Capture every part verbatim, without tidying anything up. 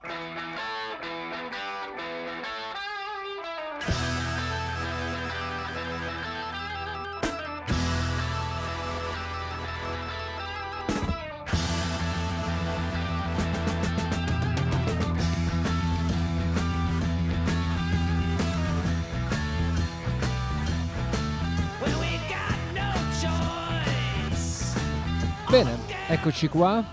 Bene, eccoci qua,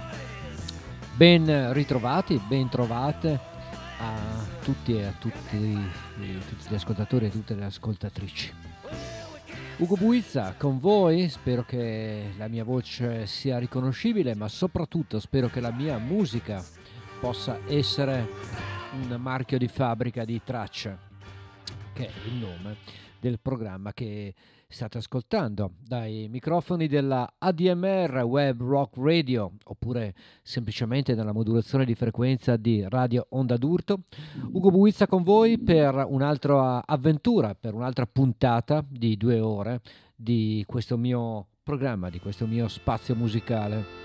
ben ritrovati, ben trovate a tutti e a tutti, tutti gli ascoltatori e tutte le ascoltatrici. Ugo Buizza con voi, spero che la mia voce sia riconoscibile, ma soprattutto spero che la mia musica possa essere un marchio di fabbrica di tracce, che è il nome del programma che state ascoltando dai microfoni della A D M R Web Rock Radio, oppure semplicemente dalla modulazione di frequenza di Radio Onda d'Urto. Ugo Buizza con voi per un'altra avventura, per un'altra puntata di due ore di questo mio programma, di questo mio spazio musicale,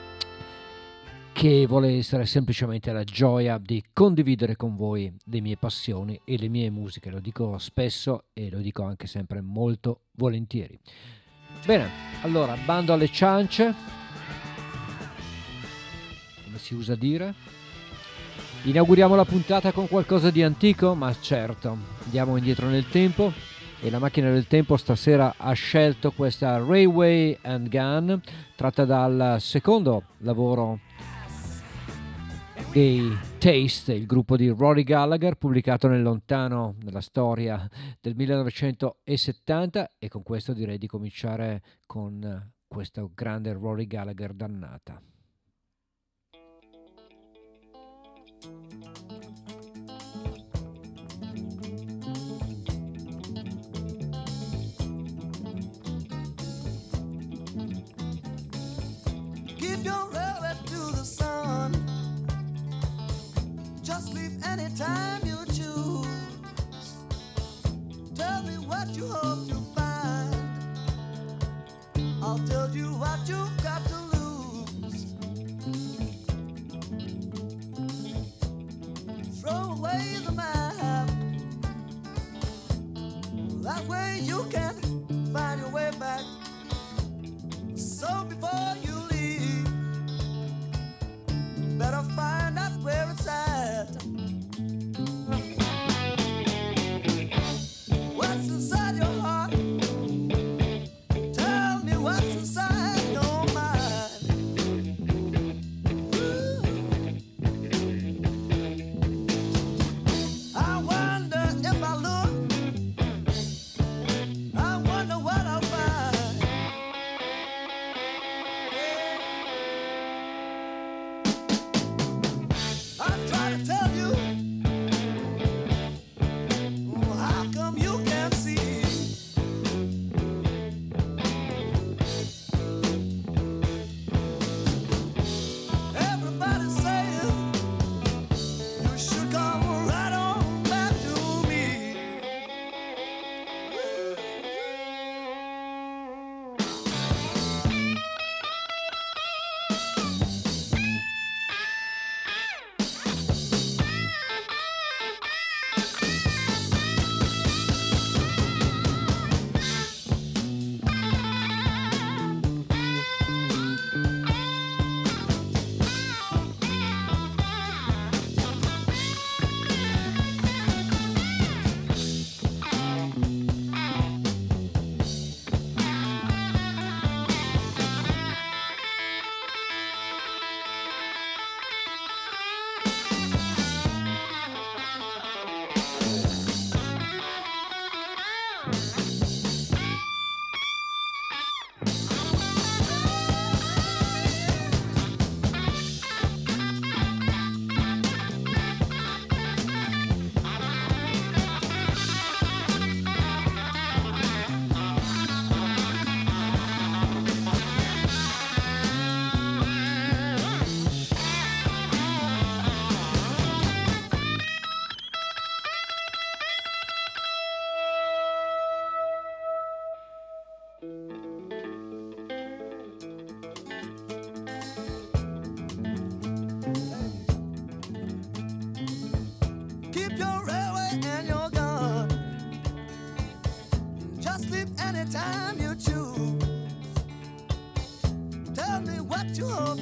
che vuole essere semplicemente la gioia di condividere con voi le mie passioni e le mie musiche. Lo dico spesso e lo dico anche sempre molto volentieri. Bene, allora, bando alle ciance, come si usa dire. Inauguriamo la puntata con qualcosa di antico, ma certo, andiamo indietro nel tempo, e la macchina del tempo stasera ha scelto questa Railway and Gun, tratta dal secondo lavoro dei Taste, il gruppo di Rory Gallagher, pubblicato nel lontano, nella storia del millenovecentosettanta, e con questo direi di cominciare con questo grande Rory Gallagher dannata. Keep your railway to the sun. Just leave anytime you choose. Tell me what you hope to find. I'll tell you what you've got to lose. Throw away the map. That way you can find your way back. So before you leave, better find out where it's at. What's inside your heart? Tell me what's inside your mind. Ooh. I wonder if I look, I wonder what I'll find.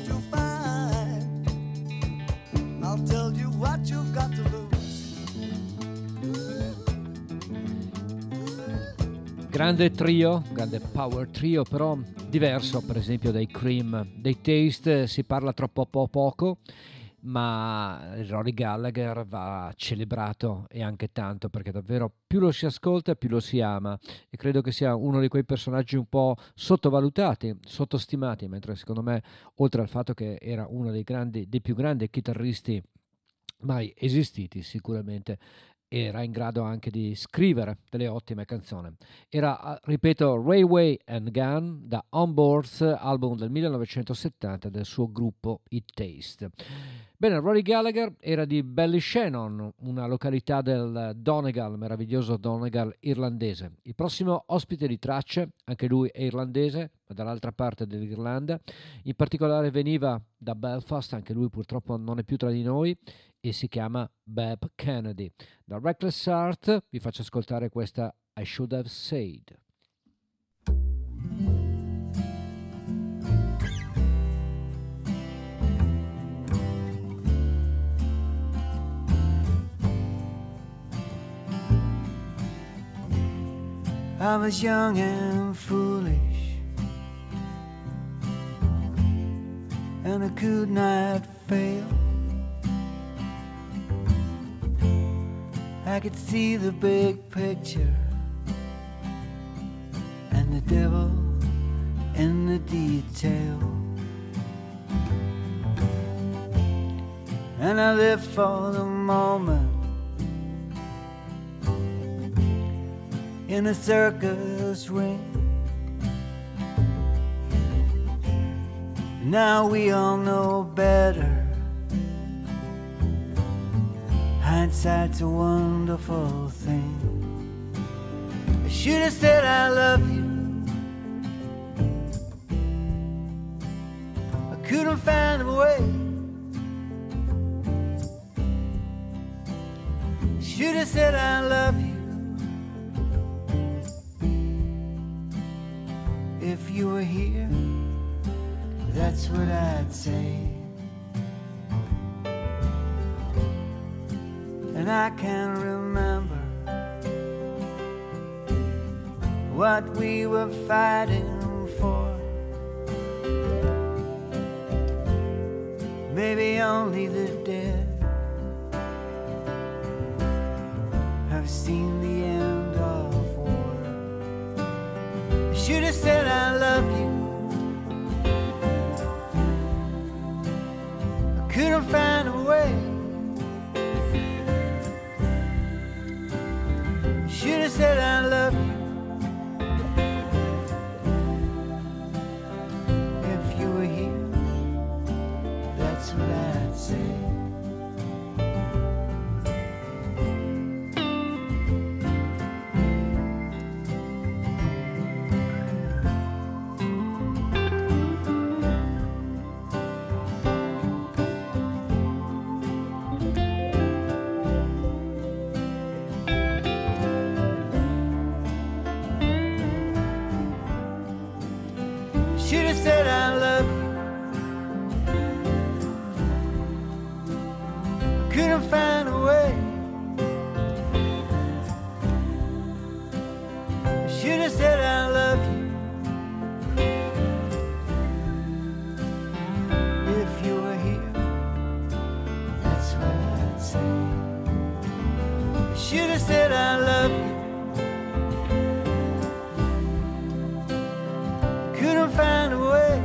what you find. I'll tell you what you've got to lose. Grande trio, grande power trio, però diverso per esempio dai Cream. Dei Taste si parla troppo po- poco, ma Rory Gallagher va celebrato, e anche tanto, perché davvero più lo si ascolta più lo si ama, e credo che sia uno di quei personaggi un po' sottovalutati, sottostimati, mentre secondo me, oltre al fatto che era uno dei grandi, dei più grandi chitarristi mai esistiti, sicuramente era in grado anche di scrivere delle ottime canzoni. Era, ah, ripeto, Railway and Gun, da On Boards, album del millenovecentosettanta del suo gruppo I Taste. Bene, Rory Gallagher era di Ballyshannon, una località del Donegal, meraviglioso Donegal irlandese. Il prossimo ospite di tracce, anche lui è irlandese, ma dall'altra parte dell'Irlanda, in particolare veniva da Belfast, anche lui purtroppo non è più tra di noi, e si chiama Bab Kennedy. Da Reckless Heart vi faccio ascoltare questa I Should Have Said. I was young and foolish, and I could not fail. I could see the big picture and the devil in the detail. And I lived for the moment in a circus ring. Now we all know better. Hindsight's a wonderful thing. I should have said I love you. I couldn't find a way. I should have said I love you. If you were here, that's what I'd say. And I can't remember what we were fighting for. Maybe only the dead have seen the end of war. I should have said I love you. I couldn't find a way. Should have said I love you. If you were here, that's what I'd say. Should have said I love you. Couldn't find a way. Should have said I love you. If you were here, that's what I'd say. Should have said I love you. Couldn't find a way.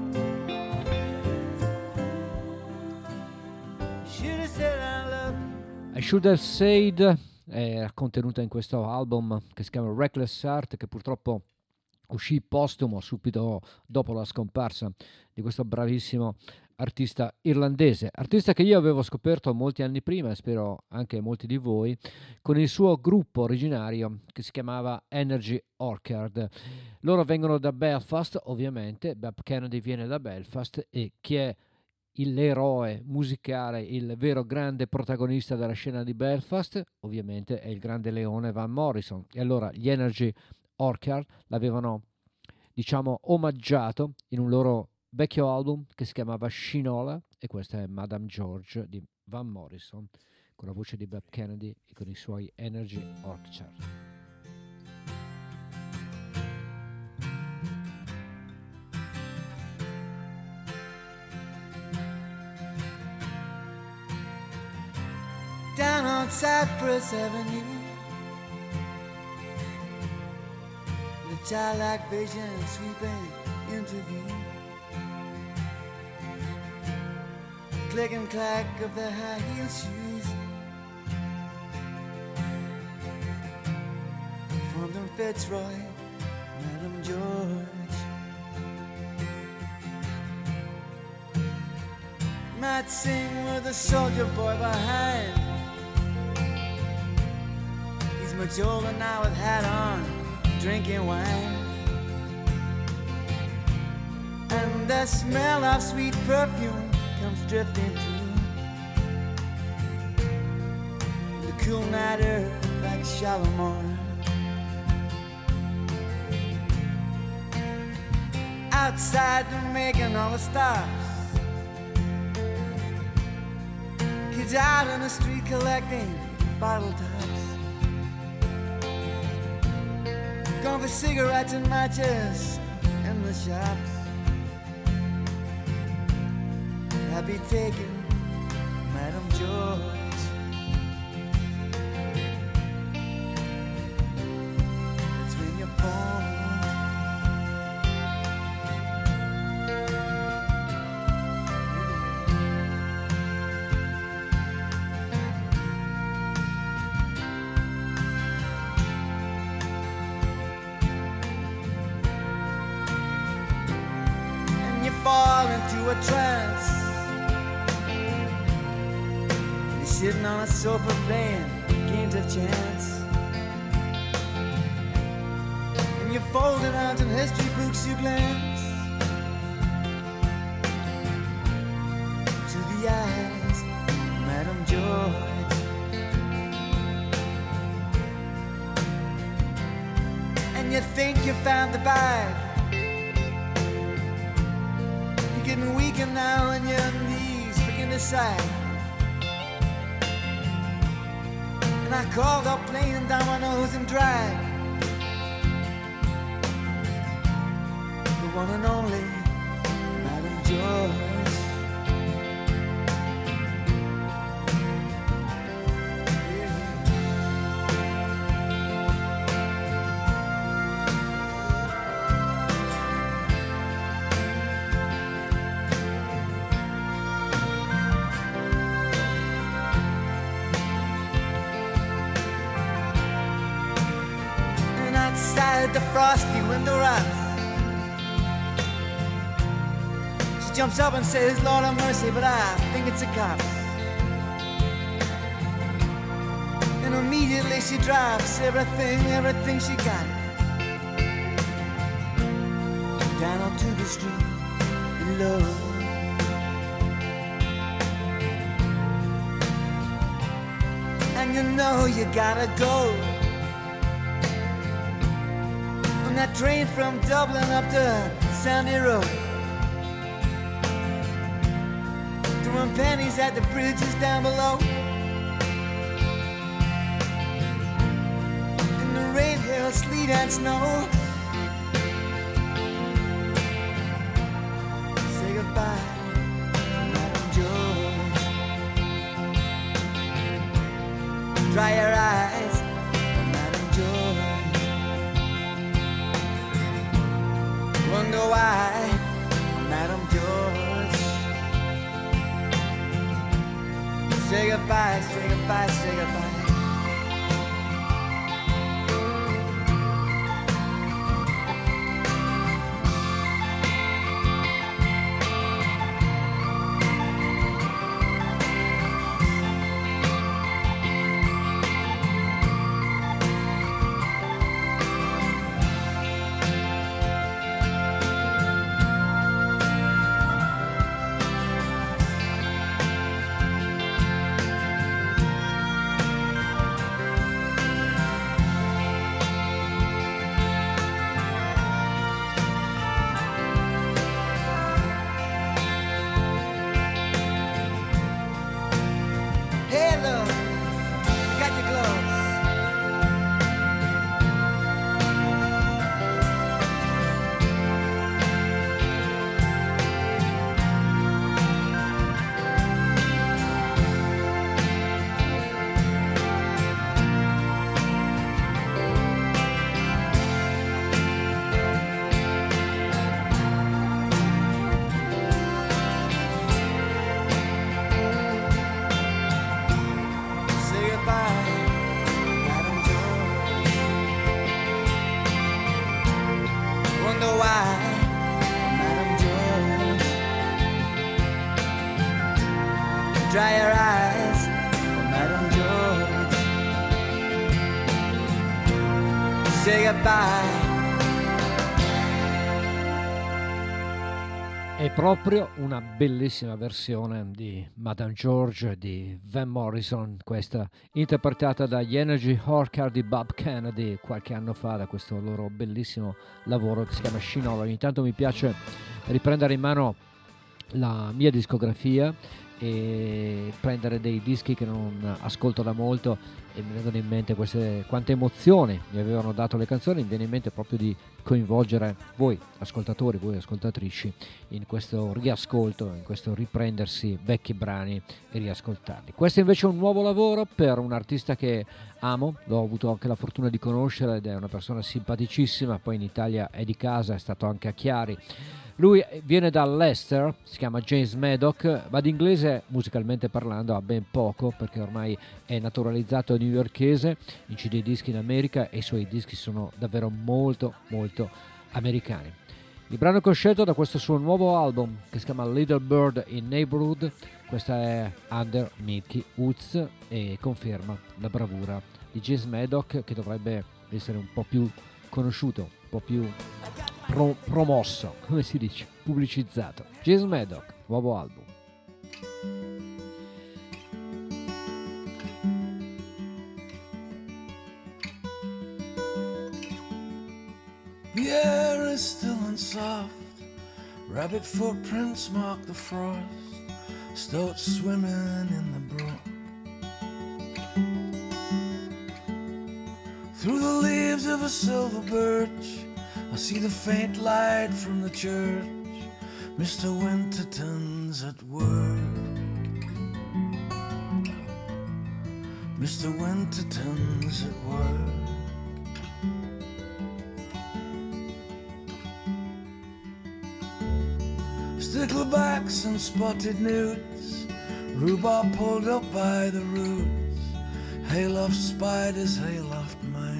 Should have said I love you. I Should Have Said è contenuta in questo album che si chiama Reckless Heart, che purtroppo uscì postumo subito dopo la scomparsa di questo bravissimo artista irlandese, artista che io avevo scoperto molti anni prima, e spero anche molti di voi, con il suo gruppo originario che si chiamava Energy Orchard. Loro vengono da Belfast, ovviamente. Bab Kennedy viene da Belfast, e chi è il- l'eroe musicale, il vero grande protagonista della scena di Belfast, ovviamente è il grande leone Van Morrison. E allora gli Energy Orchard l'avevano, diciamo, omaggiato in un loro vecchio album che si chiamava Shinola, e questa è Madame George di Van Morrison con la voce di Bob Kennedy e con i suoi Energy Orchard. Down on Cypress Avenue, the childlike vision sweeping into view. Click and clack of the high heel shoes from them Fitzroy, Madame George. Might sing with a soldier boy behind. He's much older now with hat on, drinking wine. And the smell of sweet perfume comes drifting through the cool night air like Shalimar. Outside they're making all the stops. Kids out in the street collecting bottle tops. Going for cigarettes and matches in the shops. I'll be taking Madame George. It's when you're born. And you fall into a trance. Sitting on a sofa playing games of chance. And you folded out in history books you glance to the eyes of Madame George. And you think you found the bag. You're getting weaker now and your knees begin to sag. And I called up playing dominoes and drag the one and only Madame George. The frosty window rocks. She jumps up and says, Lord have mercy, but I think it's the cops. And immediately she drops everything, everything she got down onto the street below. And you know you gotta go. That train from Dublin up to Sandy Road, throwing pennies at the bridges down below. In the rain, hail, sleet and snow. Say goodbye to Madame George. Dry your eyes, Madame George. Wonder why, Madame George. Say goodbye, say goodbye, say goodbye. dry your eyes for Madame George. Say goodbye. È proprio una bellissima versione di Madame George di Van Morrison, questa interpretata dagli Energy Orchard di Bob Kennedy qualche anno fa, da questo loro bellissimo lavoro che si chiama Shinola. Ogni tanto mi piace riprendere in mano la mia discografia e prendere dei dischi che non ascolto da molto e mi vengono in mente queste, quante emozioni mi avevano dato le canzoni. Mi viene in mente proprio di coinvolgere voi ascoltatori, voi ascoltatrici in questo riascolto, in questo riprendersi vecchi brani e riascoltarli. Questo invece è un nuovo lavoro per un artista che amo, l'ho avuto anche la fortuna di conoscere ed è una persona simpaticissima, poi in Italia è di casa, è stato anche a Chiari. Lui viene da Leicester, si chiama James Maddox, ma di inglese musicalmente parlando ha ben poco perché ormai è naturalizzato newyorkese, incide i dischi in America e i suoi dischi sono davvero molto molto americani. Il brano che ho scelto da questo suo nuovo album che si chiama Little Bird in Neighborhood, questa è Under Mickey Woods e conferma la bravura di James Maddox, che dovrebbe essere un po' più conosciuto, un po' più Pro- promosso, come si dice, pubblicizzato. James Maddox, nuovo album. The air is still and soft, rabbit footprints mark the frost, stoat swimming in the brook. Through the leaves of a silver birch I see the faint light from the church. Mister Winterton's at work. Mister Winterton's at work. Sticklebacks and spotted newts, rhubarb pulled up by the roots, hayloft spiders, hayloft mice.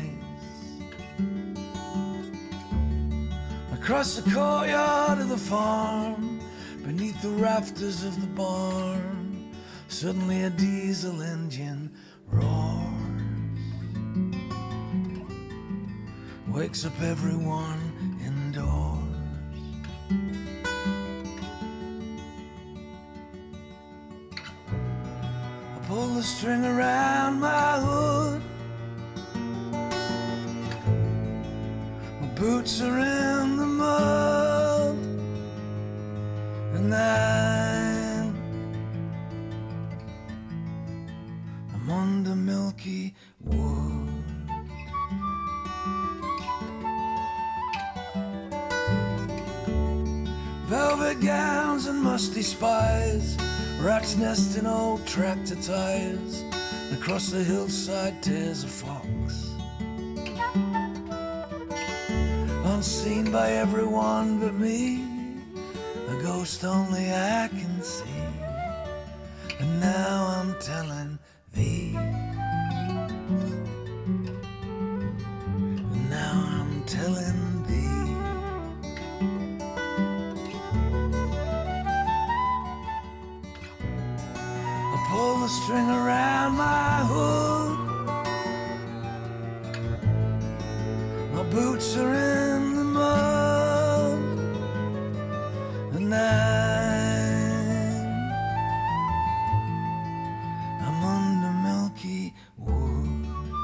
Across the courtyard of the farm, beneath the rafters of the barn, suddenly a diesel engine roars, wakes up everyone indoors. I pull the string around my hood, my boots are in the mud, and I'm, I'm under milky wood. Velvet gowns and musty spies, rats nest in old tractor tires. Across the hillside tears a fox, unseen by everyone but me, a ghost only I can see. And now I'm telling thee, and now I'm telling thee. I pull the string around my hood, my boots are in the mud, and I'm, I'm under milky wood.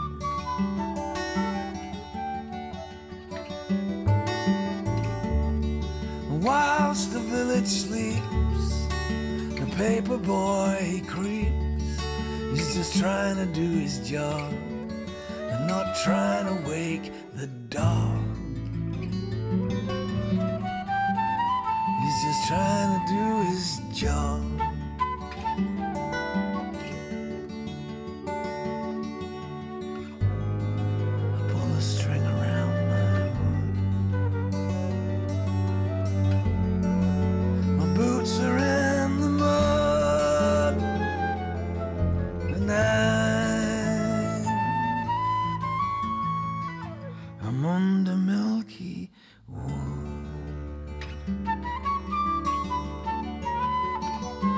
Whilst the village sleeps, the paper boy he creeps. He's just trying to do his job and not trying to wake the dog. He's just trying to do his job. I pull a string around my hood, my boots are in the mud, and I'm, I'm under milky wood.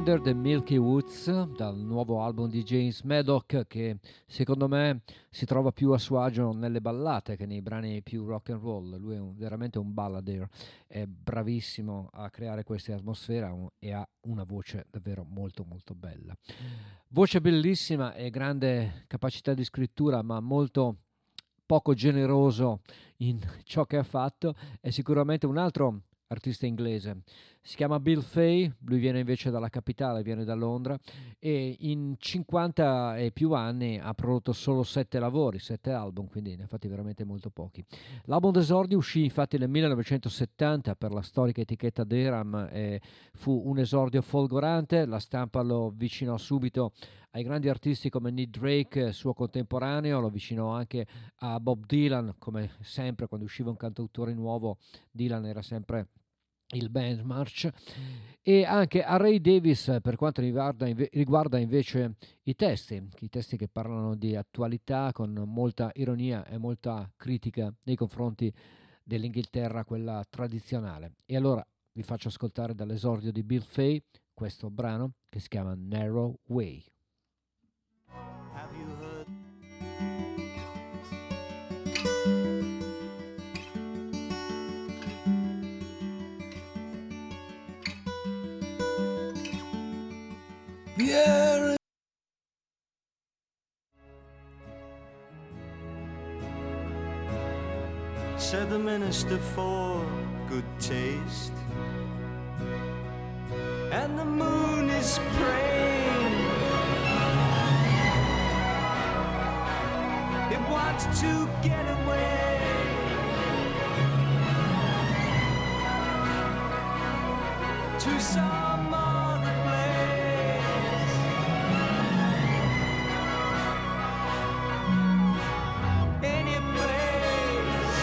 Under the Milky Woods, dal nuovo album di James Maddock, che secondo me si trova più a suo agio nelle ballate che nei brani più rock and roll. Lui è un, veramente un balladeer, è bravissimo a creare queste atmosfere e ha una voce davvero molto molto bella. Voce bellissima e grande capacità di scrittura, ma molto poco generoso in ciò che ha fatto. È sicuramente un altro artista inglese, si chiama Bill Fay, lui viene invece dalla capitale, viene da Londra, e in cinquanta e più anni ha prodotto solo sette lavori, sette album, quindi ne ha fatti veramente molto pochi. L'album d'esordio uscì infatti nel millenovecentosettanta per la storica etichetta Deram e fu un esordio folgorante. La stampa lo avvicinò subito ai grandi artisti come Nick Drake, suo contemporaneo, lo avvicinò anche a Bob Dylan. Come sempre quando usciva un cantautore nuovo, Dylan era sempre il benchmark, e anche a Ray Davis per quanto riguarda, inve- riguarda invece i testi, i testi che parlano di attualità con molta ironia e molta critica nei confronti dell'Inghilterra, quella tradizionale. E allora vi faccio ascoltare dall'esordio di Bill Fay questo brano che si chiama Narrow Way. Have you heard? Pierre. Said the minister for good taste, and the moon is praying. It wants to get away. To some other place. Any place.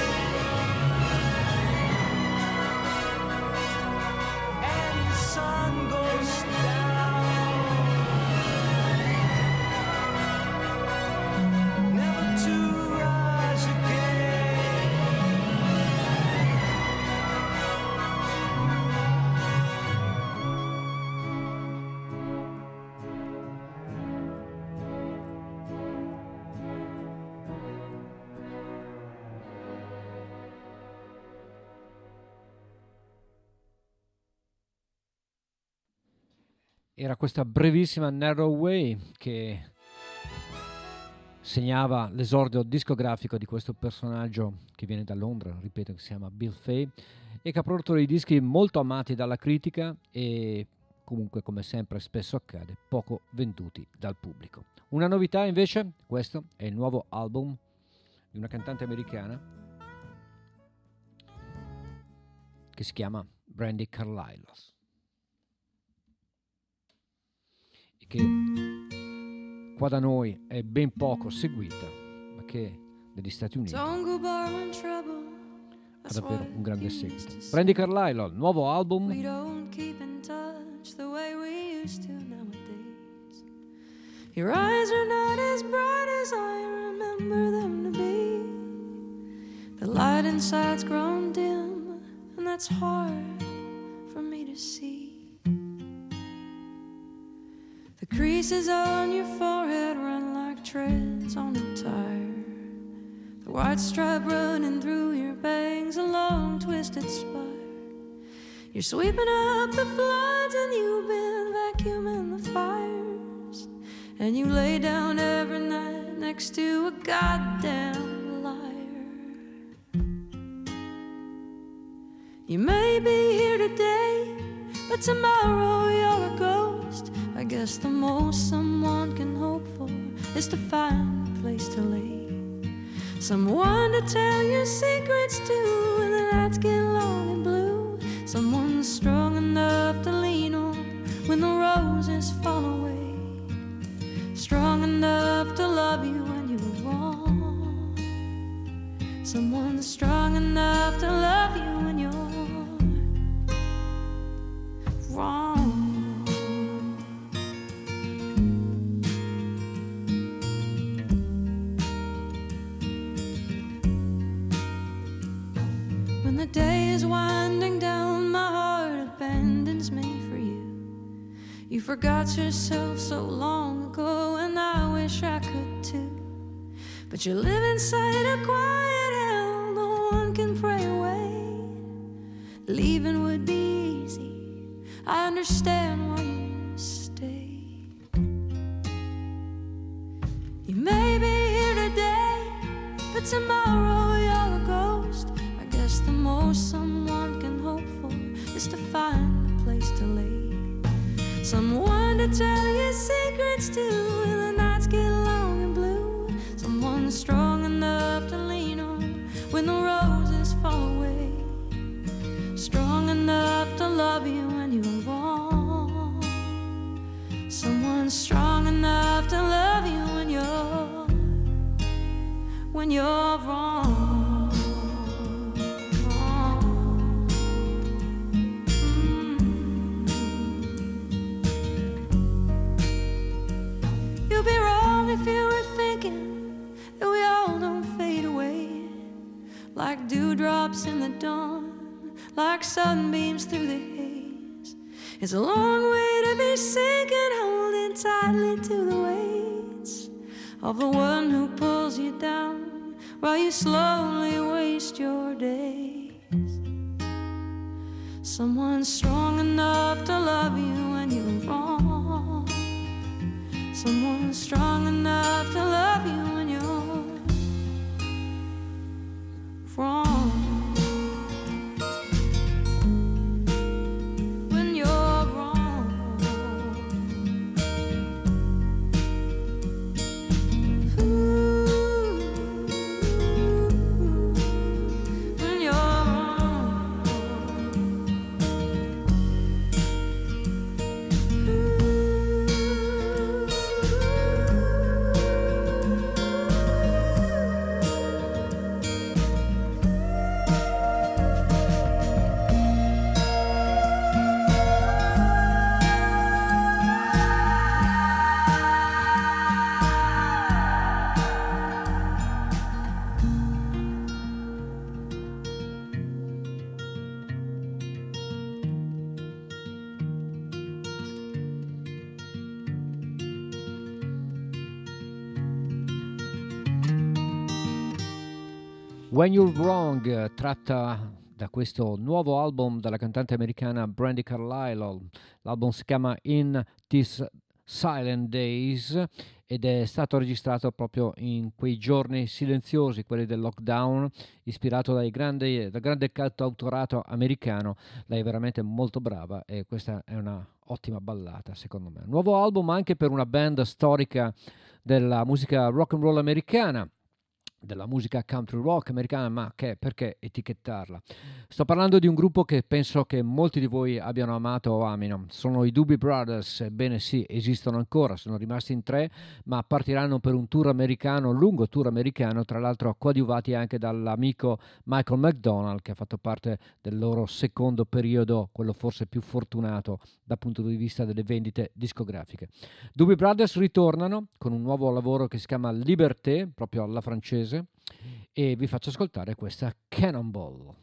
And the sun goes down, never to rise again. Era questa brevissima Narrow Way che segnava l'esordio discografico di questo personaggio che viene da Londra, ripeto, che si chiama Bill Fay, e che ha prodotto dei dischi molto amati dalla critica e comunque, come sempre spesso accade, poco venduti dal pubblico. Una novità invece, questo è il nuovo album di una cantante americana che si chiama Brandi Carlile, che qua da noi è ben poco seguita, ma che negli Stati Uniti ha davvero un grande seguito. Brandi Carlile, nuovo album. We don't keep in touch the way we used to nowadays. Your eyes are not as bright as I remember them to be. The light inside's grown dim, and that's hard for me to see. The creases on your forehead run like treads on a tire. The white stripe running through your bangs, a long twisted spire. You're sweeping up the floods and you've been vacuuming the fires. And you lay down every night next to a goddamn liar. You may be here today, but tomorrow you're a ghost. I guess the most someone can hope for is to find a place to lay, someone to tell your secrets to when the nights get long and blue, someone strong enough to lean on when the roses fall away, strong enough to love you when you were wrong, someone strong enough to love you when you're wrong. When the day is winding down, my heart abandons me for you. You forgot yourself so long ago, and I wish I could too. But you live inside a quiet hell no one can pray away. Leaving would be easy, I understand why you stay. You may be here today, but tomorrow you're a ghost. I guess the most someone can hope for is to find a place to lay, someone to tell your secrets to when the nights get long and blue, someone strong enough to lean on when the roses fall away, strong enough to love you when you're wrong, someone strong enough to love you when you're when you're wrong. You'd be wrong if you were thinking that we all don't fade away like dewdrops in the dawn, like sunbeams through the haze. It's a long way to be sinking, holding tightly to the weights of the one who pulls you down while you slowly waste your days. Someone strong enough to love you when you're wrong, someone strong enough to love you when you're wrong. When you're wrong. Ooh, when you're wrong. When You're Wrong, eh, tratta da questo nuovo album della cantante americana Brandi Carlile. L'album si chiama In These Silent Days ed è stato registrato proprio in quei giorni silenziosi, quelli del lockdown, ispirato dai grandi, dal grande cantautorato americano. Lei è veramente molto brava e questa è una ottima ballata, secondo me. Nuovo album anche per una band storica della musica rock and roll americana, della musica country rock americana, ma che perché etichettarla? Sto parlando di un gruppo che penso che molti di voi abbiano amato o amino. Sono i Doobie Brothers. Ebbene sì, esistono ancora, sono rimasti in tre, ma partiranno per un tour americano, un lungo tour americano, tra l'altro coadiuvati anche dall'amico Michael McDonald, che ha fatto parte del loro secondo periodo, quello forse più fortunato dal punto di vista delle vendite discografiche. Doobie Brothers ritornano con un nuovo lavoro che si chiama Liberté, proprio alla francese, e vi faccio ascoltare questa Cannonball.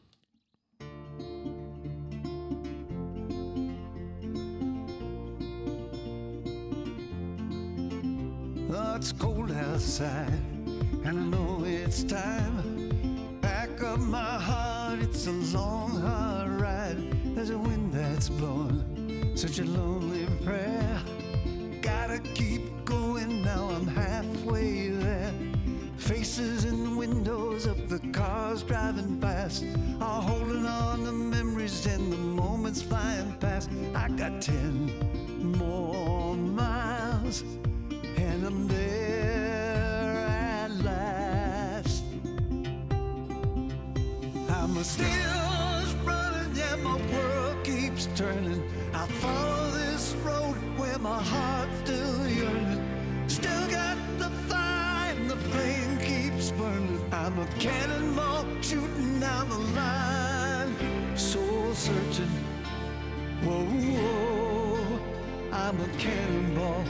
Oh, it's cold outside, and I know it's time. Back of my heart, it's a long, hard ride. There's a wind that's blowing, such a lonely prayer. Gotta keep going now, I'm halfway there. Faces in the windows of the cars driving past are holding on to memories and the moments flying past. I got ten more miles and I'm there at last. I'm a still running, yeah, my world keeps turning. I follow this road where my heart's still yearning. Still got the fire and the flame keeps burning. I'm a cannonball shooting down the line, soul searching. Whoa, whoa, I'm a cannonball.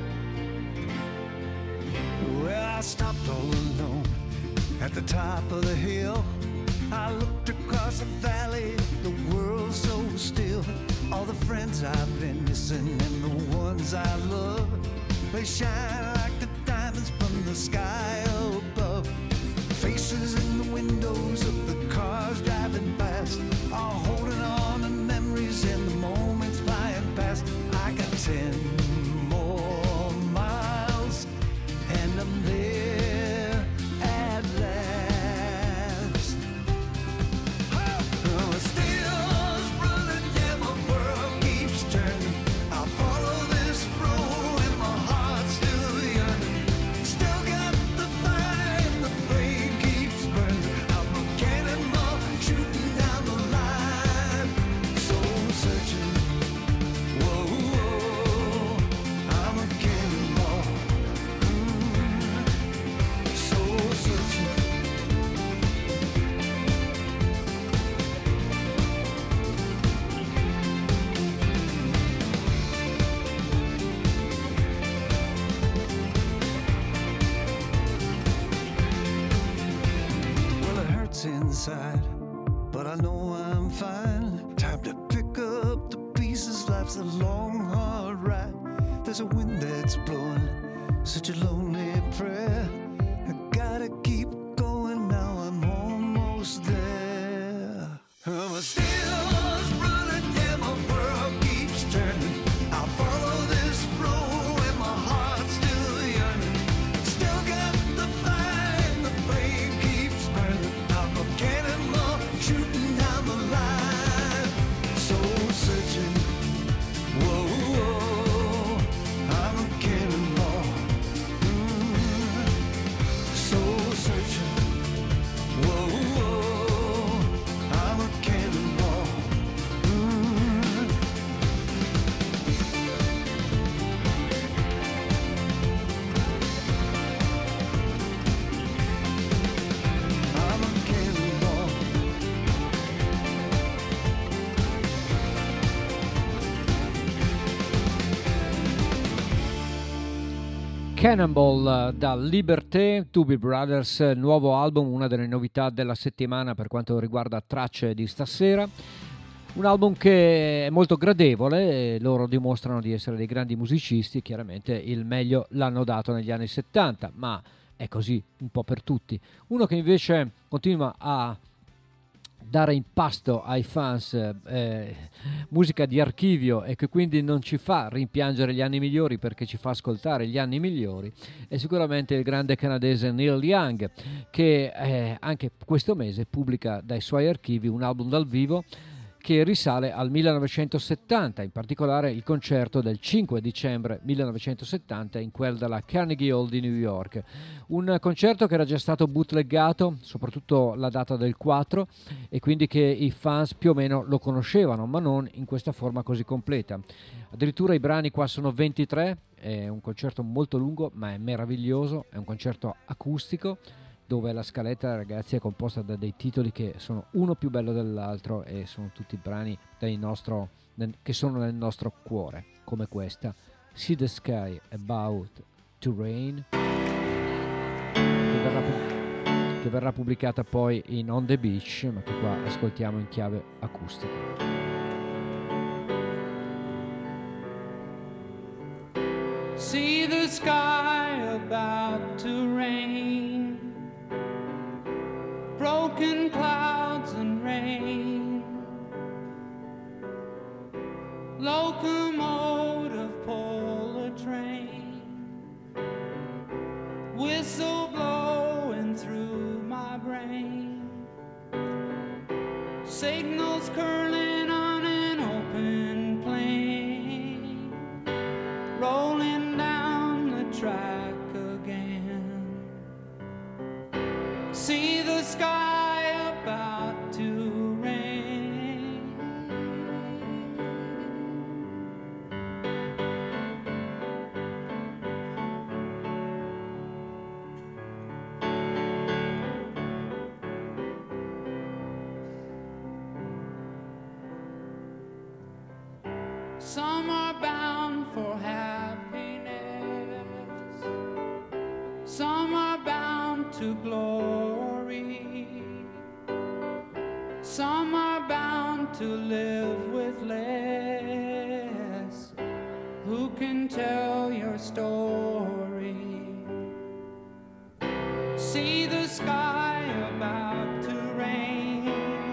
Well, I stopped all alone at the top of the hill. I looked across the valley, the world so still. All the the friends I've been missing and the ones I love. They shine like the diamonds from the sky above. Faces in the windows of the cars driving past are holding on to memories and the moments flying past. I got ten more miles and I'm there at last. Oh, still running, yeah, my world keeps turning. I follow this road and my heart's still yearning. Still got the fire and the flame keeps burning. I'm a cannonball shooting down the line. Soul searching, whoa, whoa. I'm a cannonball, mm. Soul searching. Well, it hurts inside, but I know I'm fine. Time to pick up the pieces. Life's a long, hard ride. There's a wind that's blowing, such a lonely prayer. I gotta keep going now. I'm almost there. I'm a still running, yeah, my world keeps turning. I follow this road and my heart's still yearning. Still got the fire and the flame keeps burning. I'm a cannonball shooting down the line. Soul searching, whoa, whoa. I'm a cannonball, mm. Soul searching, whoa, whoa. I'm a cannonball, mm. I'm a cannonball. Cannonball eh, da Liberté, Doobie Brothers, eh, nuovo album, una delle novità della settimana per quanto riguarda tracce di stasera. Un album che è molto gradevole, e loro dimostrano di essere dei grandi musicisti, chiaramente il meglio l'hanno dato negli anni settanta, ma è così un po' per tutti. Uno che invece continua a dare in pasto ai fans eh, musica di archivio e che quindi non ci fa rimpiangere gli anni migliori perché ci fa ascoltare gli anni migliori, è sicuramente il grande canadese Neil Young, che eh, anche questo mese pubblica dai suoi archivi un album dal vivo che risale al millenovecentosettanta, in particolare il concerto del cinque dicembre millenovecentosettanta in quel della Carnegie Hall di New York. Un concerto che era già stato bootleggato, soprattutto la data del quattro, e quindi che i fans più o meno lo conoscevano, ma non in questa forma così completa. Addirittura i brani qua sono ventitré, è un concerto molto lungo ma è meraviglioso, è un concerto acustico, dove la scaletta, ragazzi, è composta da dei titoli che sono uno più bello dell'altro e sono tutti brani del nostro, nel, che sono nel nostro cuore, come questa See the Sky About to Rain, che verrà, che verrà pubblicata poi in On the Beach, ma che qua ascoltiamo in chiave acustica. See the sky about to rain, broken clouds and rain, locomotive pull a train, whistle blowing through my brain, signals curling on an open plain, rolling down the track again. See the sky about to rain. Some are bound for happiness, some are bound to glory, Some are bound to live with less. Who can tell your story? See the sky about to rain,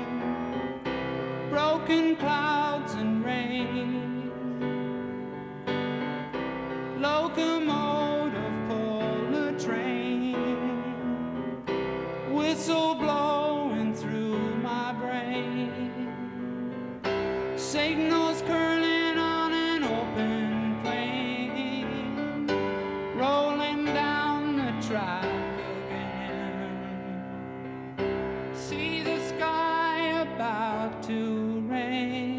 broken clouds and rain, locomotive pull a train, whistle blowing through my brain, signals curling on an open plain, rolling down the track again. See the sky about to rain.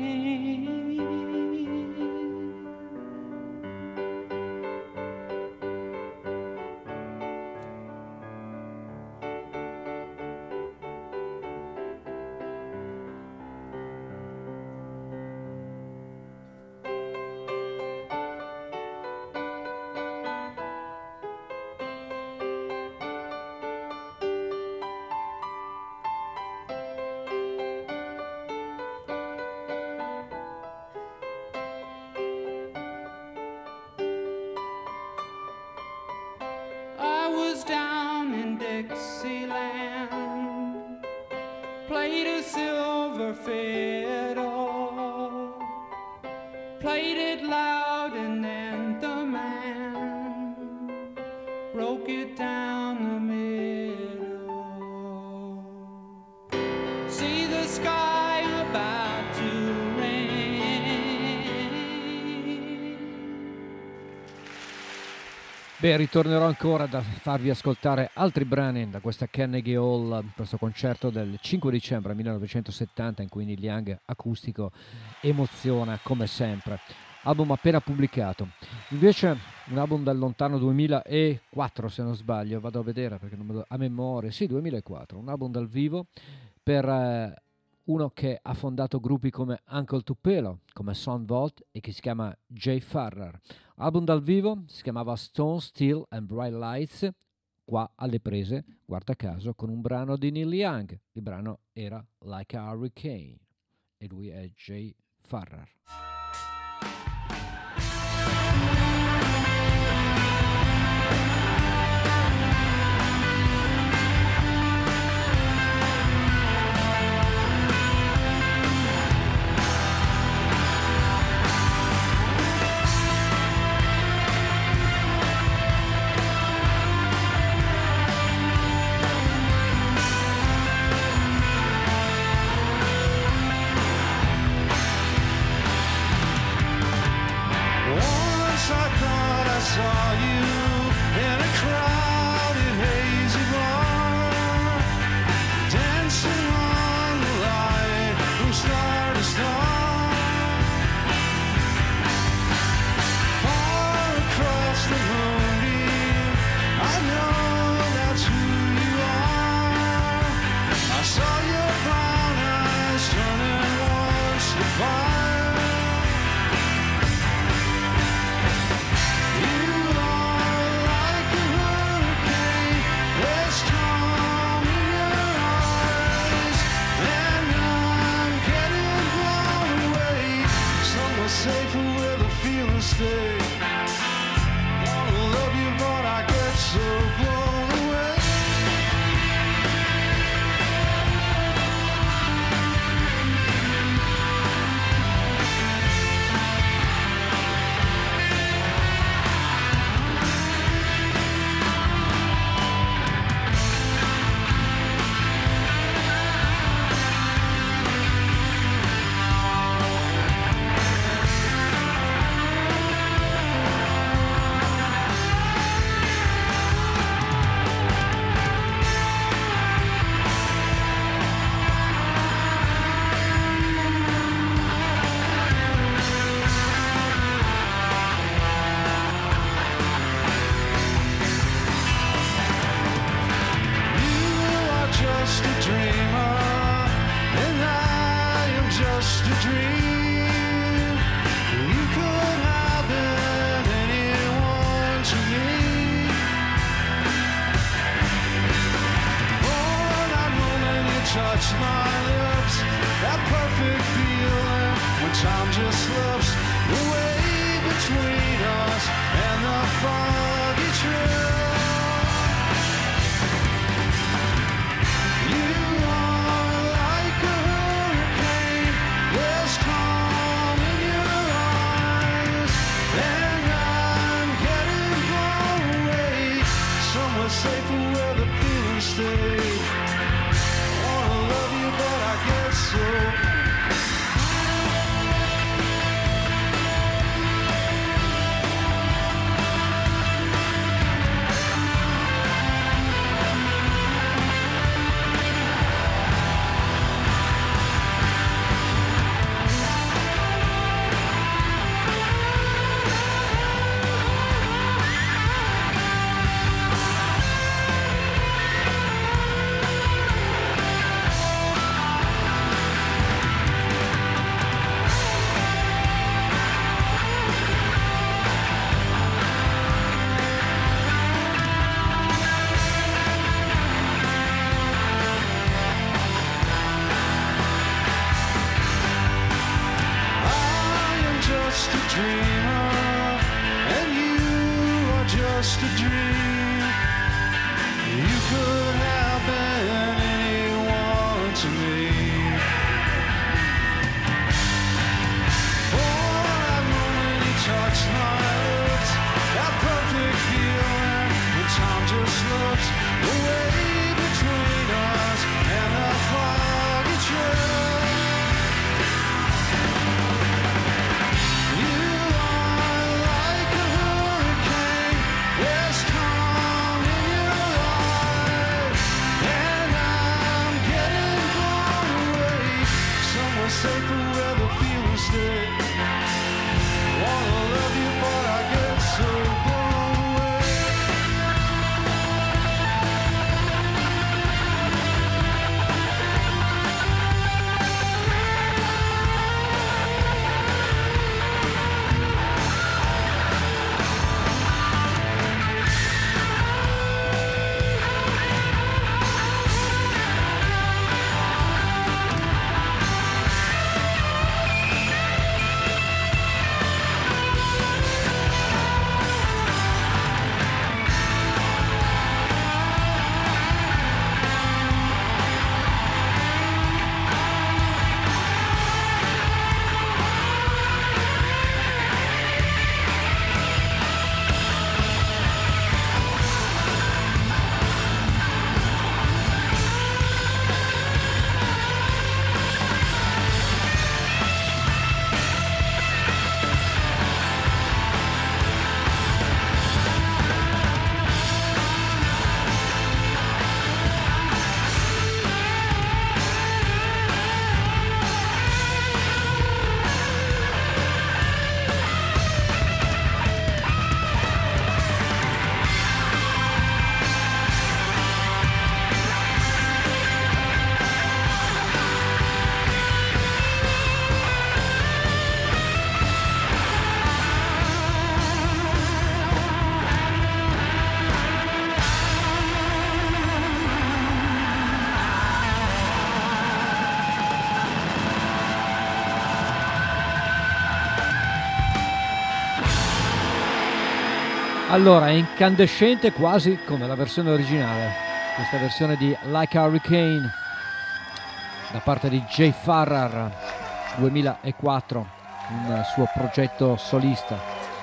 I was down in Dixieland, played a silver fiddle, played it loud, and then the man broke it down the middle. See the sky about to Beh, ritornerò ancora da farvi ascoltare altri brani da questa Carnegie Hall, questo concerto del cinque dicembre millenovecentosettanta in cui Neil Young acustico emoziona come sempre. Album appena pubblicato. Invece un album dal lontano duemilaquattro, se non sbaglio, vado a vedere perché non me lo, a memoria, sì, duemilaquattro, un album dal vivo per eh, uno che ha fondato gruppi come Uncle Tupelo, come Son Volt e che si chiama Jay Farrar. Album dal vivo, si chiamava Stone, Steel and Bright Lights, qua alle prese, guarda caso, con un brano di Neil Young. Il brano era Like a Hurricane e lui è Jay Farrar. Saw you in a crowded, hazy bar, dancing on the light from star to star. Far across the moonbeam, I know that's who you are. I saw your brown eyes turning towards the fire. Safe where the feelings stay. Wanna love you, but I get so blown away. Touch my lips dreamer, and you are just a dream. You could have been anyone to me. For that moment he touched my lips, that perfect feeling when time just slips away between us and that foggy trail. Safe where the feeling stay. Wanna love you, but I get so blown away. Allora, è incandescente quasi come la versione originale, questa versione di Like a Hurricane da parte di Jay Farrar, duemilaquattro, un suo progetto solista.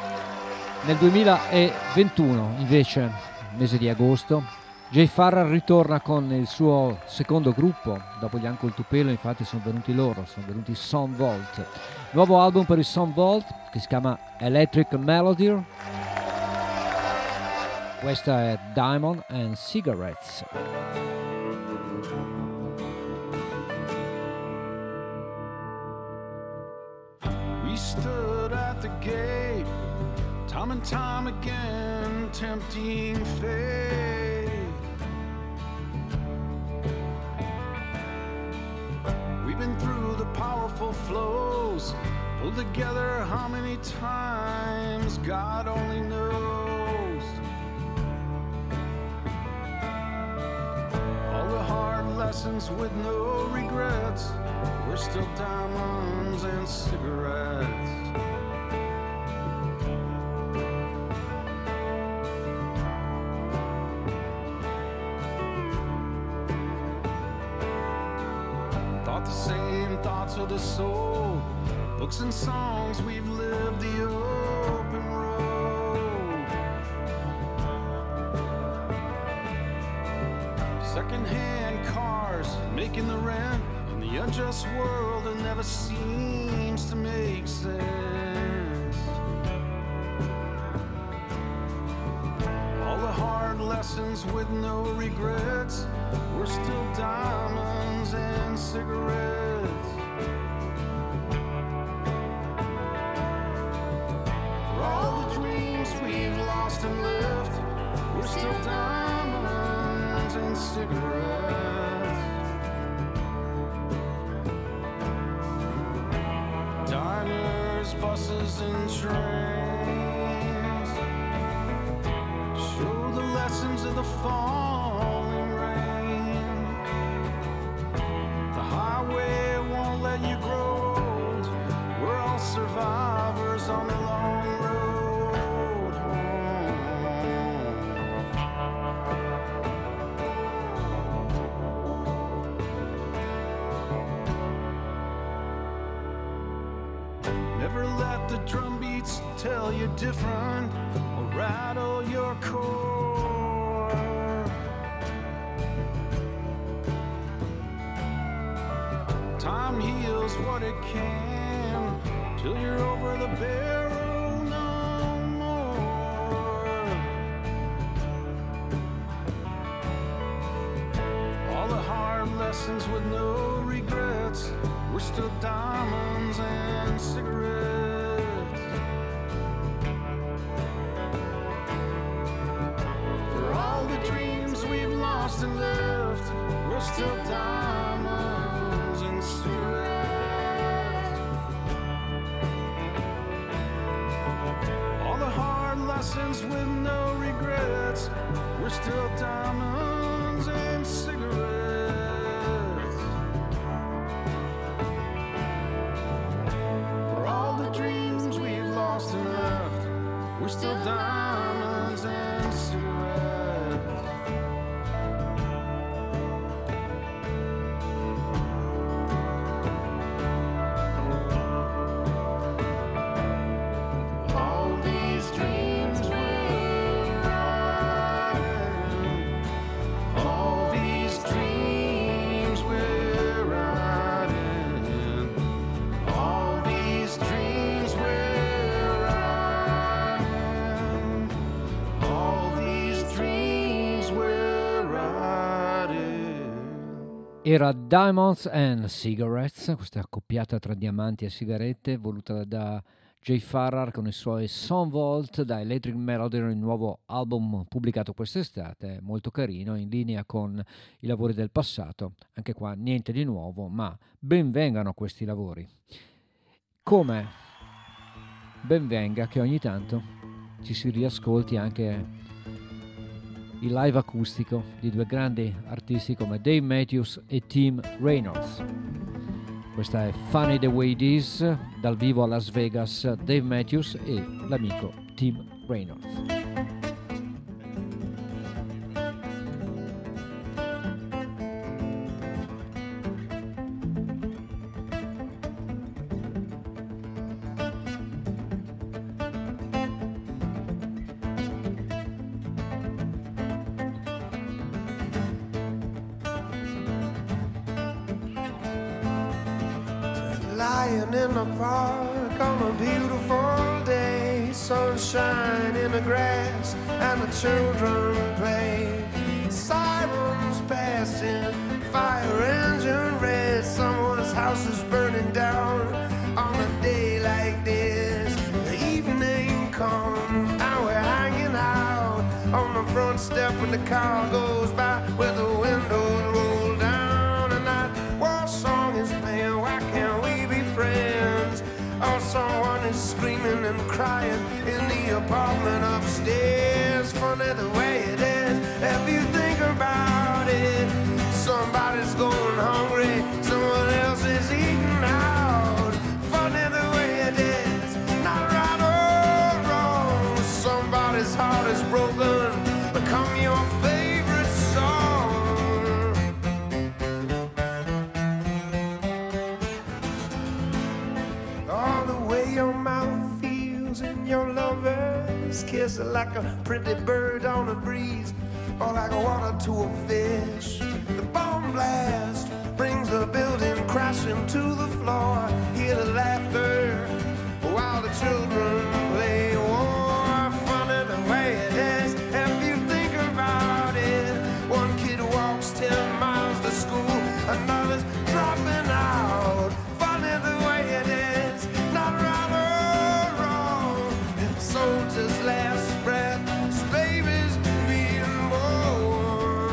Nel duemilaventuno, invece, mese di agosto, Jay Farrar ritorna con il suo secondo gruppo. Dopo gli Uncle Tupelo, infatti, sono venuti loro, sono venuti Son Volt. Nuovo album per i Son Volt che si chiama Electric Melody. Questa è Diamond and Cigarettes. We stood at the gate, time and time again, tempting fate. We've been through the powerful flows, pulled together how many times, God only knows. Lessons with no regrets, we're still diamonds and cigarettes. Thought the same thoughts of the soul, books and songs, we've lived the open road. Second-hand cars, making the rent in the unjust world that never seems to make sense. All the hard lessons with no regrets, we're still diamonds and cigarettes. For all the dreams we've lost and left, we're still diamonds and cigarettes. Diners, buses and trains show the lessons of the falling rain. The highway won't let you grow old, we're all survivors on the Never let the drum beats tell you different or rattle your core. Time heals what it can till you're over the barrel no more. All the hard lessons with no regrets, we're still diamonds and cigarettes. For all the dreams we've lost and left, we're still diamonds and cigarettes. All the hard lessons with no regrets, we're still diamonds and cigarettes. Dreams we've lost and left, we're still diamonds and cigarettes. All these dreams we're riding, all these dreams we're riding, all these dreams era Diamonds and Cigarettes, questa accoppiata tra diamanti e sigarette voluta da Jay Farrar con i suoi Son Vault da Electric Melody, il nuovo album pubblicato quest'estate, molto carino, in linea con i lavori del passato. Anche qua niente di nuovo, ma ben vengano questi lavori. Come ben venga che ogni tanto ci si riascolti anche il live acustico di due grandi artisti come Dave Matthews e Tim Reynolds. Questa è Funny the Way It Is, dal vivo a Las Vegas, Dave Matthews e l'amico Tim Reynolds. Lying in the park on a beautiful day, sunshine in the grass and the children play. Sirens passing, fire engine red, someone's house is burning down on a day like this. The evening comes and we're hanging out on the front step when the car goes by with the windows roll down, and that war song is playing. Why can't we be friends? Or someone is screaming and crying in the apartment upstairs. Funny the way it is, if you think about it. Somebody's going hungry, someone else is eating out. Funny the way it is, not right or wrong. Somebody's heart is broken, become your favorite song. All the way your mouth feels in your lover's kiss, like a pretty bird on a breeze, or like water to a fish. The bomb blast brings the building crashing to the floor. Hear the laughter while the children play war. Funny the way it is, if you think about it. One kid walks ten miles to school, another's dropping out. Funny the way it is, not right or wrong. And the soldier's last breath, his baby's being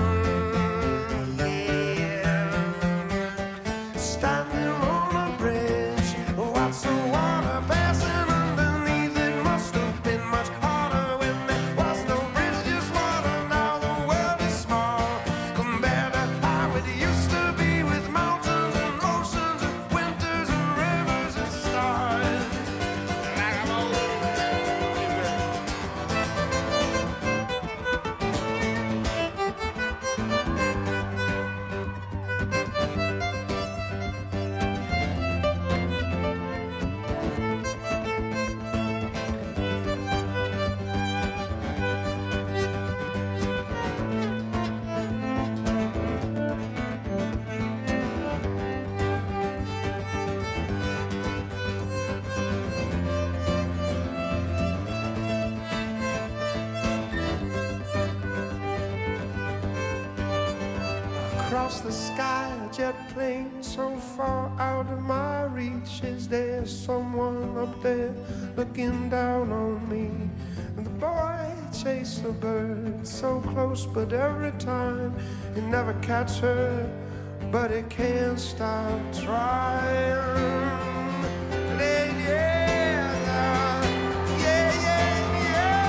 born. Yeah. Standing on a bridge across the sky, a jet plane so far out of my reach. Is there someone up there looking down on me? And the boy chased the bird so close, but every time he never catch her, but he can't stop trying. Lady, yeah, yeah, yeah, yeah.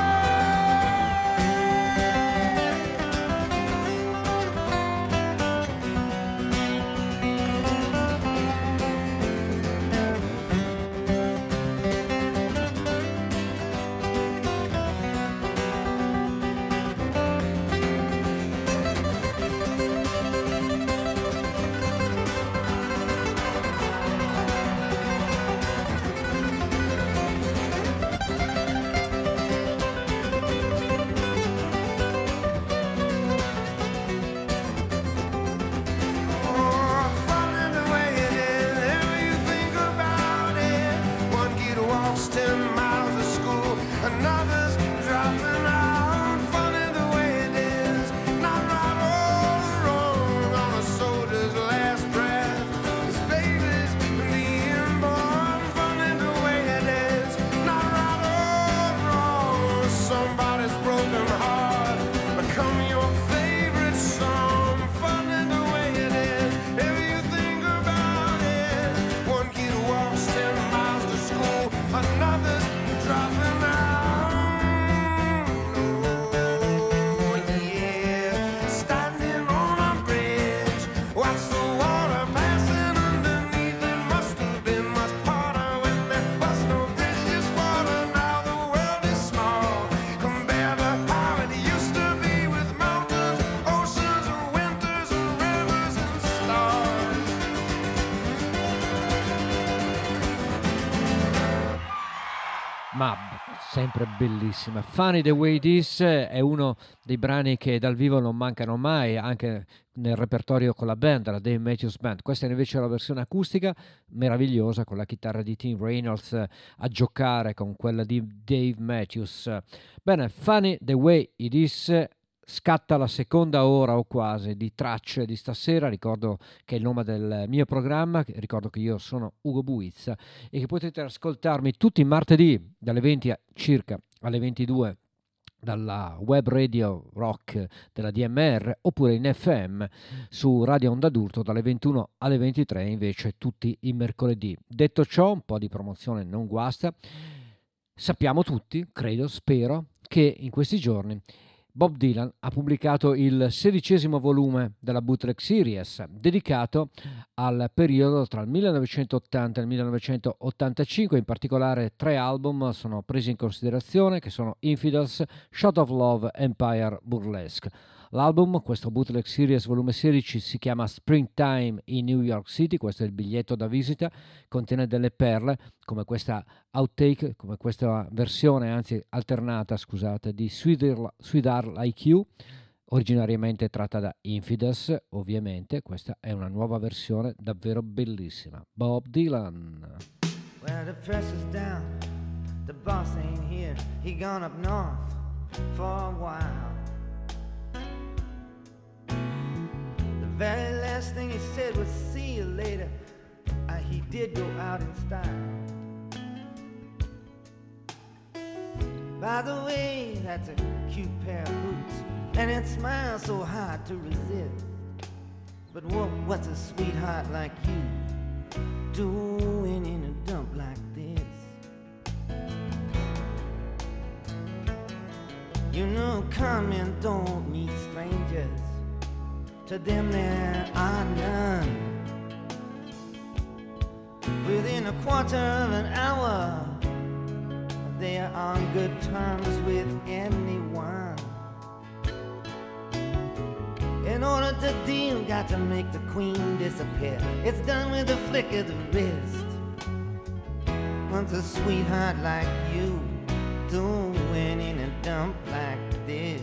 Ma sempre bellissima. Funny the Way It Is è uno dei brani che dal vivo non mancano mai, anche nel repertorio con la band, la Dave Matthews Band. Questa è invece la versione acustica, meravigliosa, con la chitarra di Tim Reynolds a giocare con quella di Dave Matthews. Bene, Funny the Way It Is. Scatta la seconda ora o quasi di tracce di stasera. Ricordo che è il nome del mio programma, ricordo che io sono Ugo Buizza e che potete ascoltarmi tutti i martedì dalle venti a circa alle ventidue dalla web radio rock della D M R, oppure in F M su Radio Onda d'Urto dalle ventuno alle ventitré, invece tutti i mercoledì. Detto ciò, un po' di promozione non guasta. Sappiamo tutti, credo, spero, che in questi giorni Bob Dylan ha pubblicato il sedicesimo volume della Bootleg Series, dedicato al periodo tra il millenovecentottanta e il millenovecentottantacinque. In particolare tre album sono presi in considerazione, che sono Infidels, Shot of Love, Empire Burlesque. L'album, questo Bootleg Series volume sedici, si chiama Springtime in New York City, questo è il biglietto da visita, contiene delle perle come questa outtake, come questa versione, anzi alternata, scusate, di Sweetheart Like You, originariamente tratta da Infidels, ovviamente. Questa è una nuova versione davvero bellissima. Bob Dylan. Well, the pressure's down, the boss ain't here, he gone up north for a while. The very last thing he said was see you later. Uh, he did go out in style. By the way, that's a cute pair of boots, and it smiles so hard to resist. But what, what's a sweetheart like you doing in a dump like this? You know, come and don't meet strangers. To them there are none. Within a quarter of an hour, they are on good terms with anyone. In order to deal, got to make the queen disappear. It's done with a flick of the wrist. What's a sweetheart like you doing in a dump like this?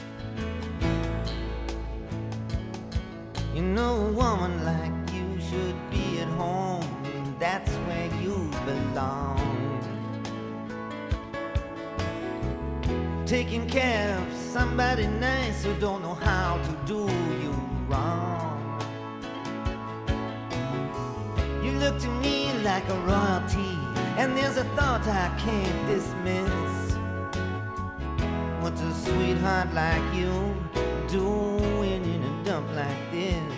You know, a woman like you should be at home. That's where you belong. Taking care of somebody nice who don't know how to do you wrong. look to me like a royalty, and there's a thought I can't dismiss. What's a sweetheart like you doing in a dump like this?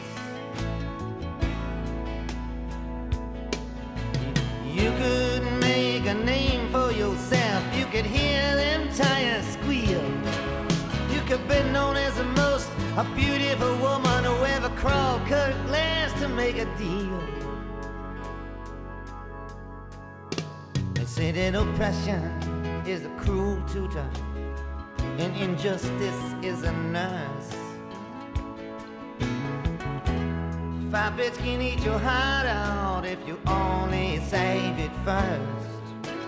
You could make a name for yourself, you could hear them tires squeal. You could be known as the most a beautiful woman who ever crawled Kirk glass to make a deal. They say that oppression is a cruel tutor and injustice is a nurse. Five bits can eat your heart out if you only save it first.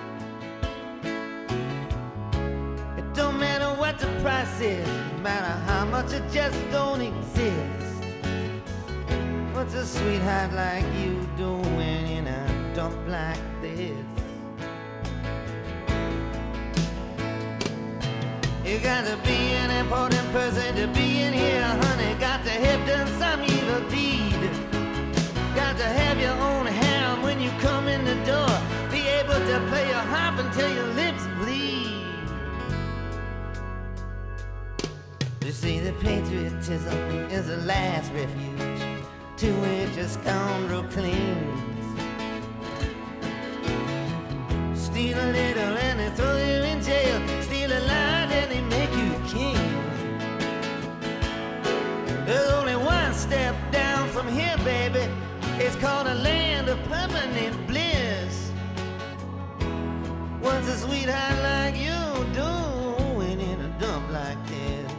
It don't matter what the price is, no matter how much it just don't exist. What's a sweetheart like you doing in a dump like this? You gotta be an important person to be in here, honey. Got to have done some evil deed. Got to have your own harem when you come in the door. Be able to play your harp until your lips bleed. You see, the patriotism is the last refuge to which a scoundrel clings. Steal a little and they throw you in jail. Steal a lot and they make you king. There's only one step down from here, baby. It's called a land of permanent bliss. What's a sweetheart like you doing in a dump like this?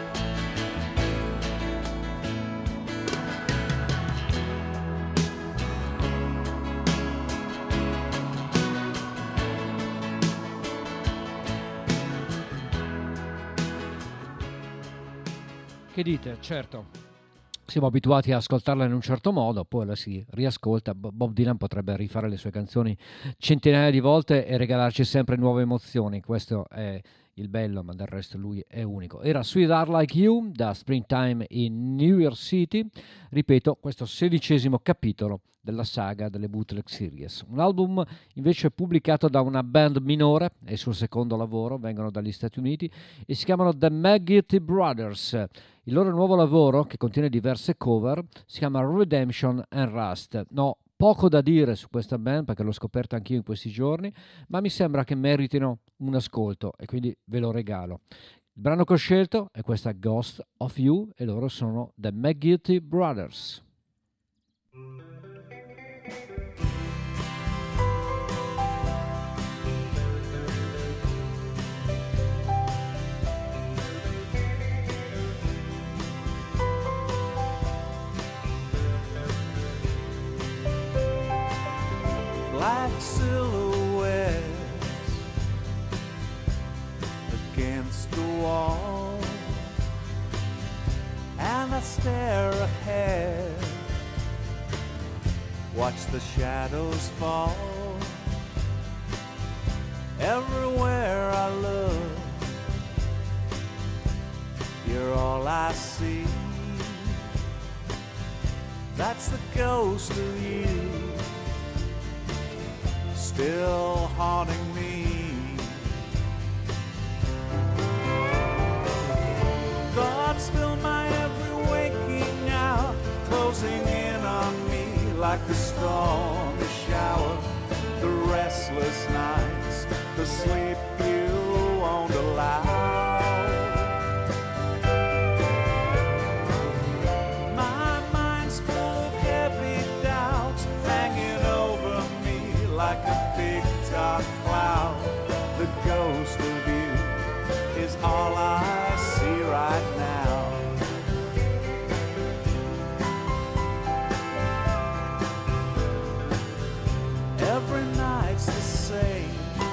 Che dite? Certo, siamo abituati a ascoltarla in un certo modo, poi la si riascolta. Bob Dylan potrebbe rifare le sue canzoni centinaia di volte e regalarci sempre nuove emozioni. Questo è il bello, ma del resto lui è unico. Era Sweetheart Like You da Springtime in New York City, ripeto, questo sedicesimo capitolo della saga delle Bootleg Series. Un album invece pubblicato da una band minore, è il suo secondo lavoro, vengono dagli Stati Uniti e si chiamano The McGeety Brothers. Il loro nuovo lavoro, che contiene diverse cover, si chiama Redemption and Rust. No, poco da dire su questa band perché l'ho scoperta anch'io in questi giorni, ma mi sembra che meritino un ascolto e quindi ve lo regalo. Il brano che ho scelto è questa Ghost of You e loro sono The McGeety Brothers. Black silhouettes against the wall, and I stare ahead, watch the shadows fall. Everywhere I look, you're all I see. That's the ghost of you, still haunting me. Thoughts fill my every waking hour, closing in on me like a stormy shower. The restless nights, the sleep you won't allow. My mind's full of heavy doubts, hanging over me like a big dark cloud. The ghost of you is all I see right now. Every night's the same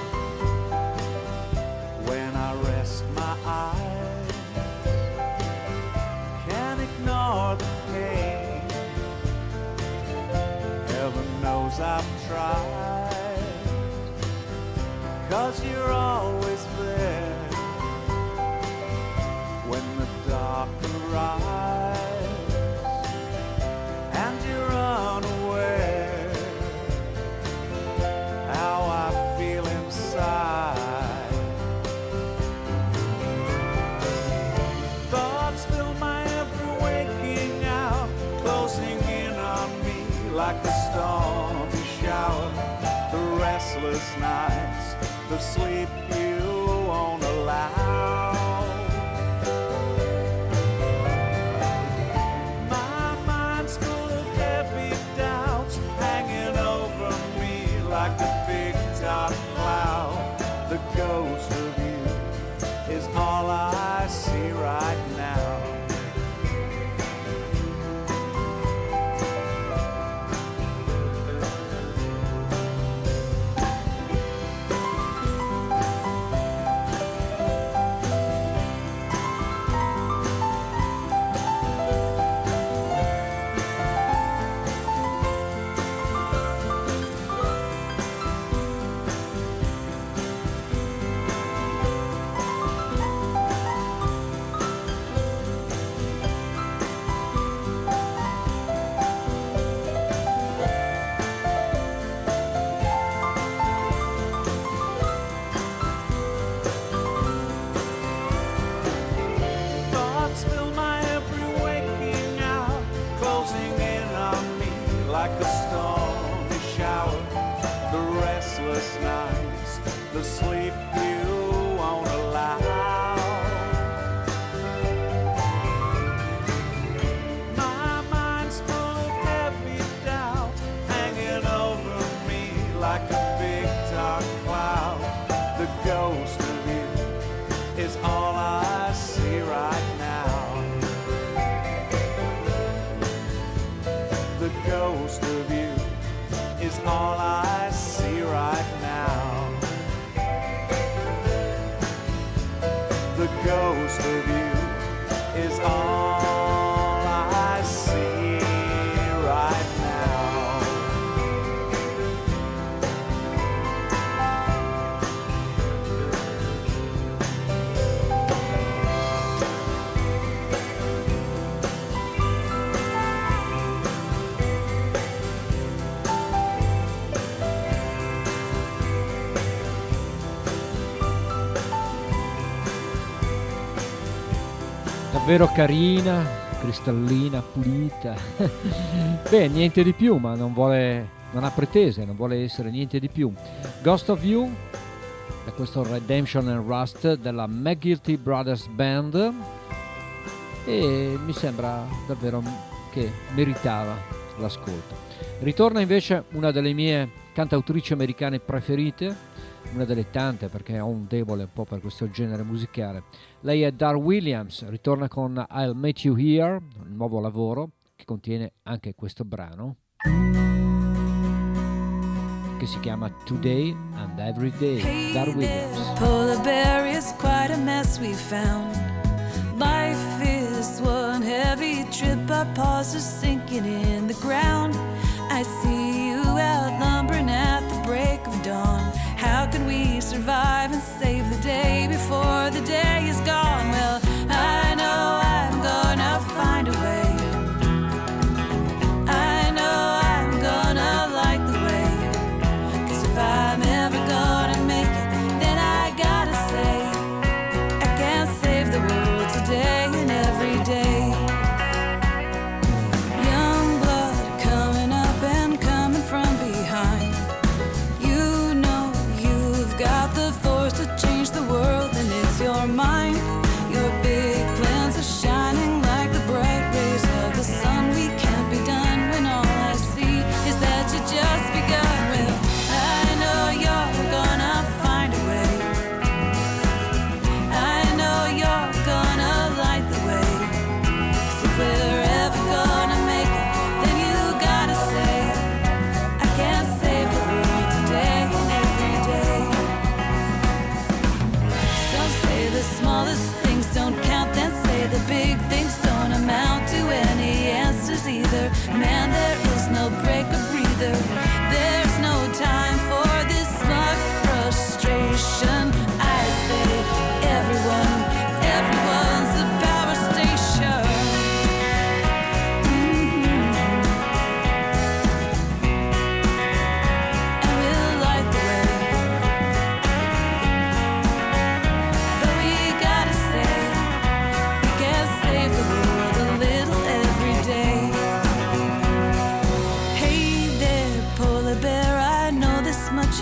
when I rest my eyes. Can't ignore the pain, heaven knows I've tried. 'Cause you're always there when the dark arrives, and you're unaware restless nights, the sleep you won't allow. My mind's full of heavy doubts hanging over me like a big dark cloud. The ghost of you is all I see right now. The sleep you won't allow. My mind's full of heavy doubt hanging over me like a big dark cloud. The ghost of you is all I see right now. The ghost of you is all I see right now. The ghost of you is all I see right now. Davvero carina, cristallina, pulita. Beh, niente di più, ma non vuole, non ha pretese, non vuole essere niente di più. Ghost of You, da questo Redemption and Rust della McGuilty Brothers Band, e mi sembra davvero che meritava l'ascolto. Ritorna invece una delle mie cantautrici americane preferite, una delle tante, perché ho un debole un po' per questo genere musicale. Lei è Dar Williams, ritorna con I'll Meet You Here, un nuovo lavoro che contiene anche questo brano che si chiama Today and Every Day. Hey Dar there, Williams. polar bear is quite a mess we found. Life is one heavy trip, our paws are sinking in the ground. I see you outlumbering at the break of dawn. How can we survive and save the day before the day is gone? Well, I know I'm gonna find a way. I know I'm gonna light the way. 'Cause if I'm ever gonna make it, then I gotta say I can't save the world today and every day. Young blood coming up and coming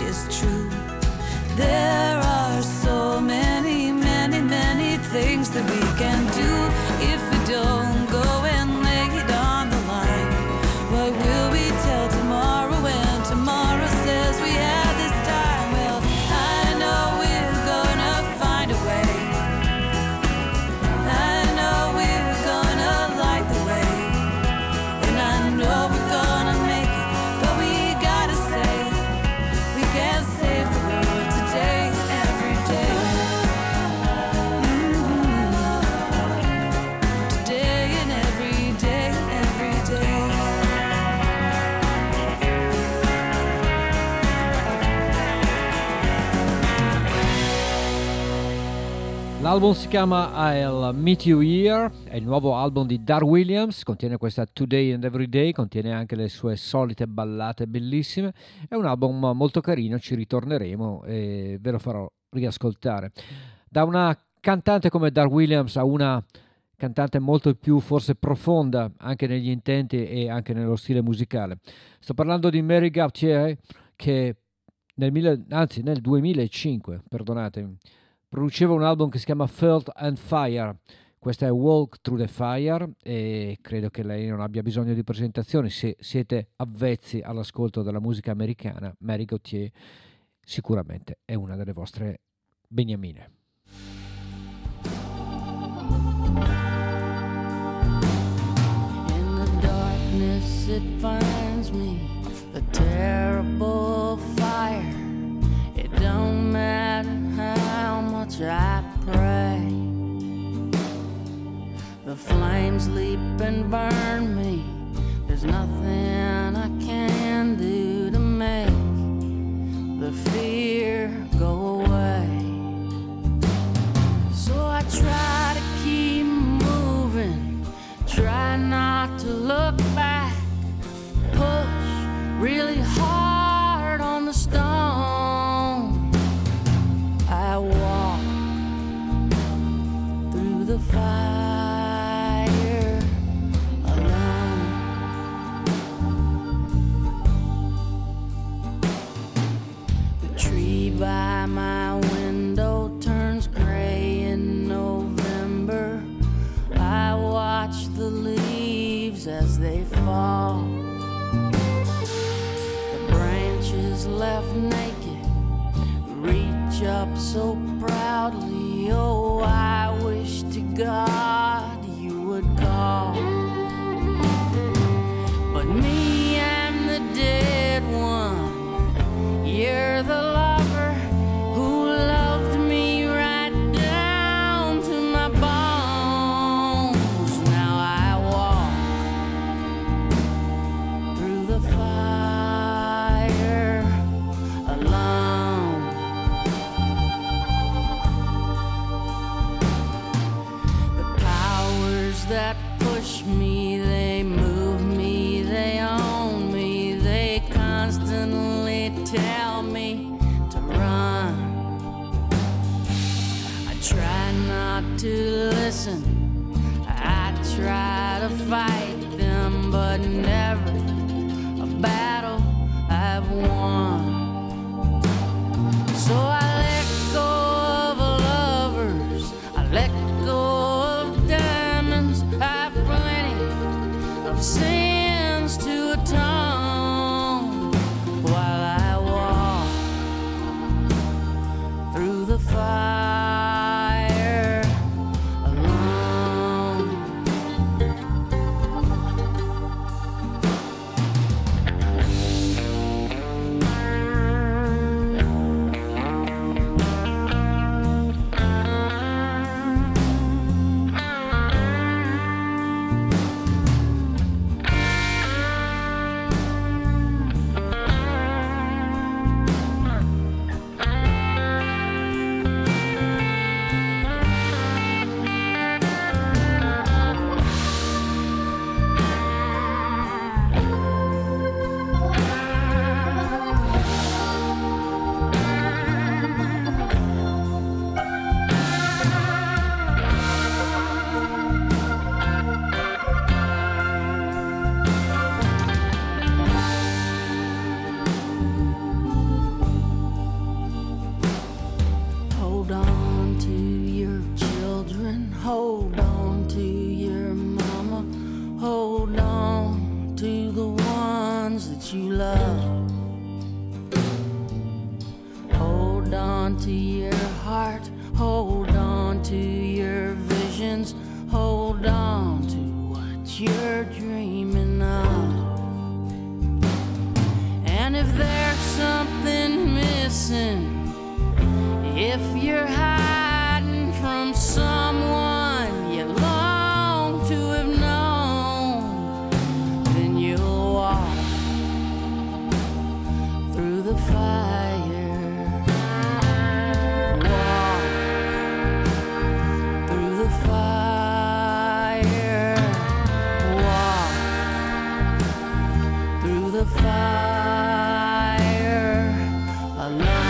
is true. There are so many, many, many things that we can do if we don't go and lay it on the line. What will we tell tomorrow when tomorrow says we had this time? Well, I know we're gonna find a way. I know we're gonna light the way. And I know we're gonna make it. But we gotta say, we can't save the world today, every day. Mm-hmm. Today and every day, every day. L'album si chiama I'll Meet You Here, è il nuovo album di Dar Williams, contiene questa Today and Every Day, contiene anche le sue solite ballate bellissime, è un album molto carino, ci ritorneremo e ve lo farò riascoltare. Da una cantante come Dar Williams a una cantante molto più forse profonda anche negli intenti e anche nello stile musicale. Sto parlando di Mary Gauthier che nel, mille, anzi, nel duemilacinque, perdonatemi, produceva un album che si chiama Felt and Fire. Questa è Walk Through the Fire e credo che lei non abbia bisogno di presentazioni. Se siete avvezzi all'ascolto della musica americana, Mary Gauthier sicuramente è una delle vostre beniamine. In the darkness it finds me, the terrible fire. It don't matter how much I pray, the flames leap and burn me. There's nothing I can do to make the fear go away. So I try to keep moving, try not to look back, push really hard on the stone. I walk through the fire alone. The tree by my window turns gray in November. I watch the leaves as they fall. The branches left naked reach up so proudly. Oh, I wish to God you would call. But me, I'm the dead one. You're the lover who loved me right down to my bones. Now I walk through the fire alone. The powers that push me, they move me, they own me, they constantly tell me to run. I try not to listen, I try to fight them, but never a battle I've won. So I let go of lovers, I let go of diamonds, I've plenty of sins to atone while I walk through the fire alone. on to your heart, hold on to your visions, hold on to what you're dreaming of. And if there's something missing, if you're hiding from someone you long to have known, then you'll walk through the fire, walk through the fire, walk through the fire alone.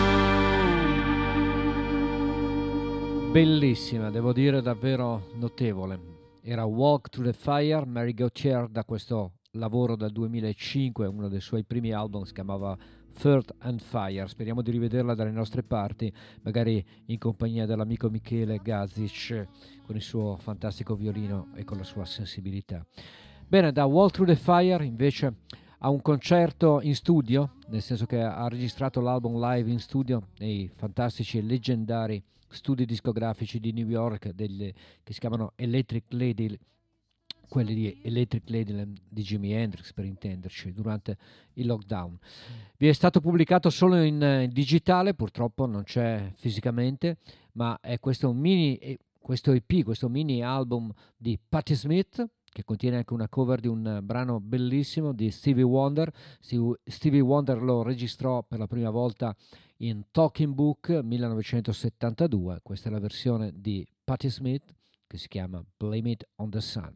Bellissima, devo dire davvero notevole. Era Walk Through the Fire, Mary Gauthier, da questo lavoro del duemilacinque, uno dei suoi primi album, si chiamava Earth and Fire. Speriamo di rivederla dalle nostre parti, magari in compagnia dell'amico Michele Gazic, con il suo fantastico violino e con la sua sensibilità. Bene, da Walk Through the Fire invece a un concerto in studio, nel senso che ha registrato l'album live in studio nei fantastici e leggendari studi discografici di New York delle, che si chiamano Electric Lady, quelli di Electric Ladyland di Jimi Hendrix, per intenderci, durante il lockdown. Vi è stato pubblicato solo in, in digitale, purtroppo non c'è fisicamente, ma è questo mini, questo E P, questo mini album di Patti Smith, che contiene anche una cover di un brano bellissimo di Stevie Wonder. Stevie Wonder lo registrò per la prima volta in Talking Book millenovecentosettantadue. Questa è la versione di Patti Smith che si chiama Blame It on the Sun.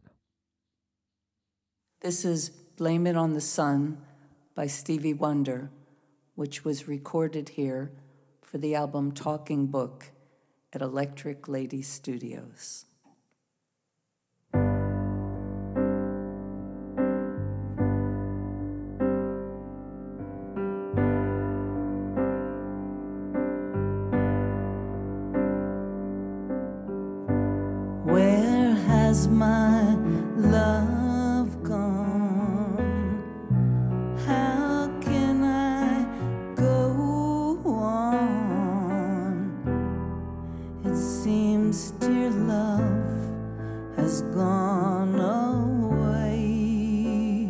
This is Blame It on the Sun by Stevie Wonder, which was recorded here for the album Talking Book at Electric Lady Studios. Where has my love gone? How can I go on? It seems dear love has gone away.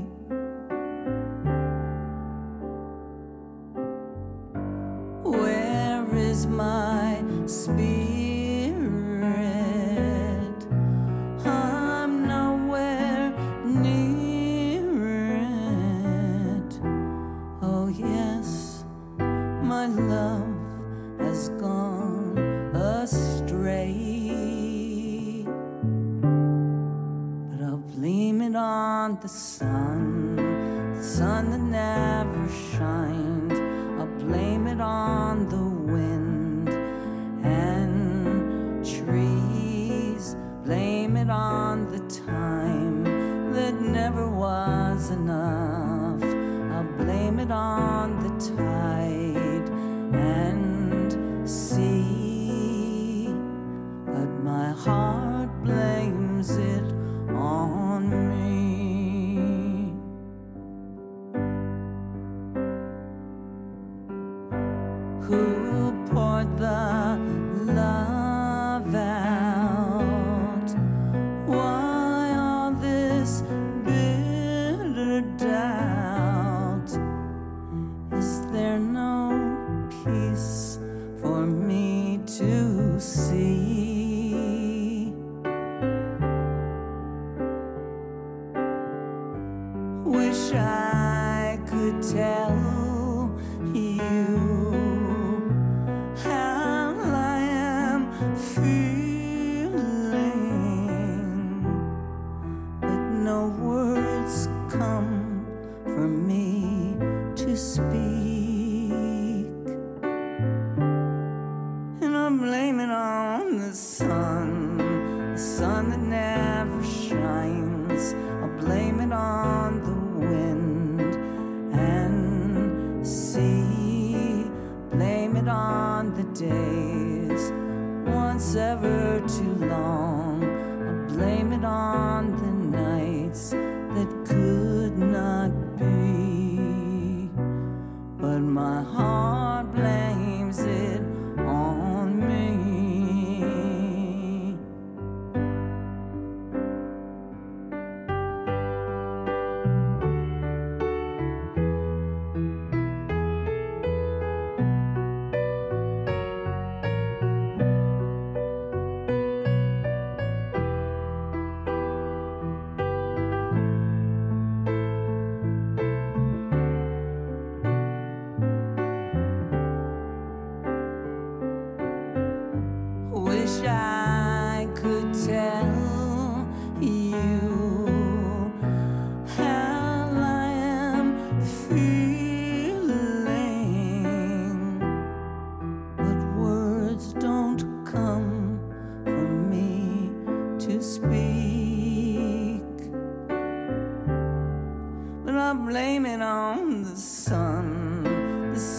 Where is my spirit? The sun, the sun that never shined. I'll blame it on the wind and trees. Blame it on the time that never was enough. I'll blame it on the tide and sea. But my heart blames it on me. Who poured the love out? Why all this bitter doubt? Is there no peace for me to see? Wish I could tell you days, once ever too long. I blame it on the nights that could not be, but my heart blames it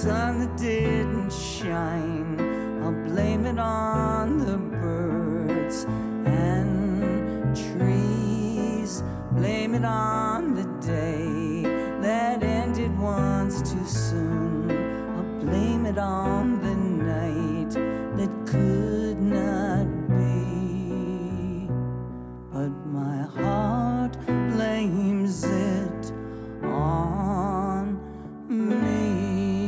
sun that didn't shine, I'll blame it on the birds and trees. Blame it on the day that ended once too soon. I'll blame it on the night that could not be. But my heart blames it on me.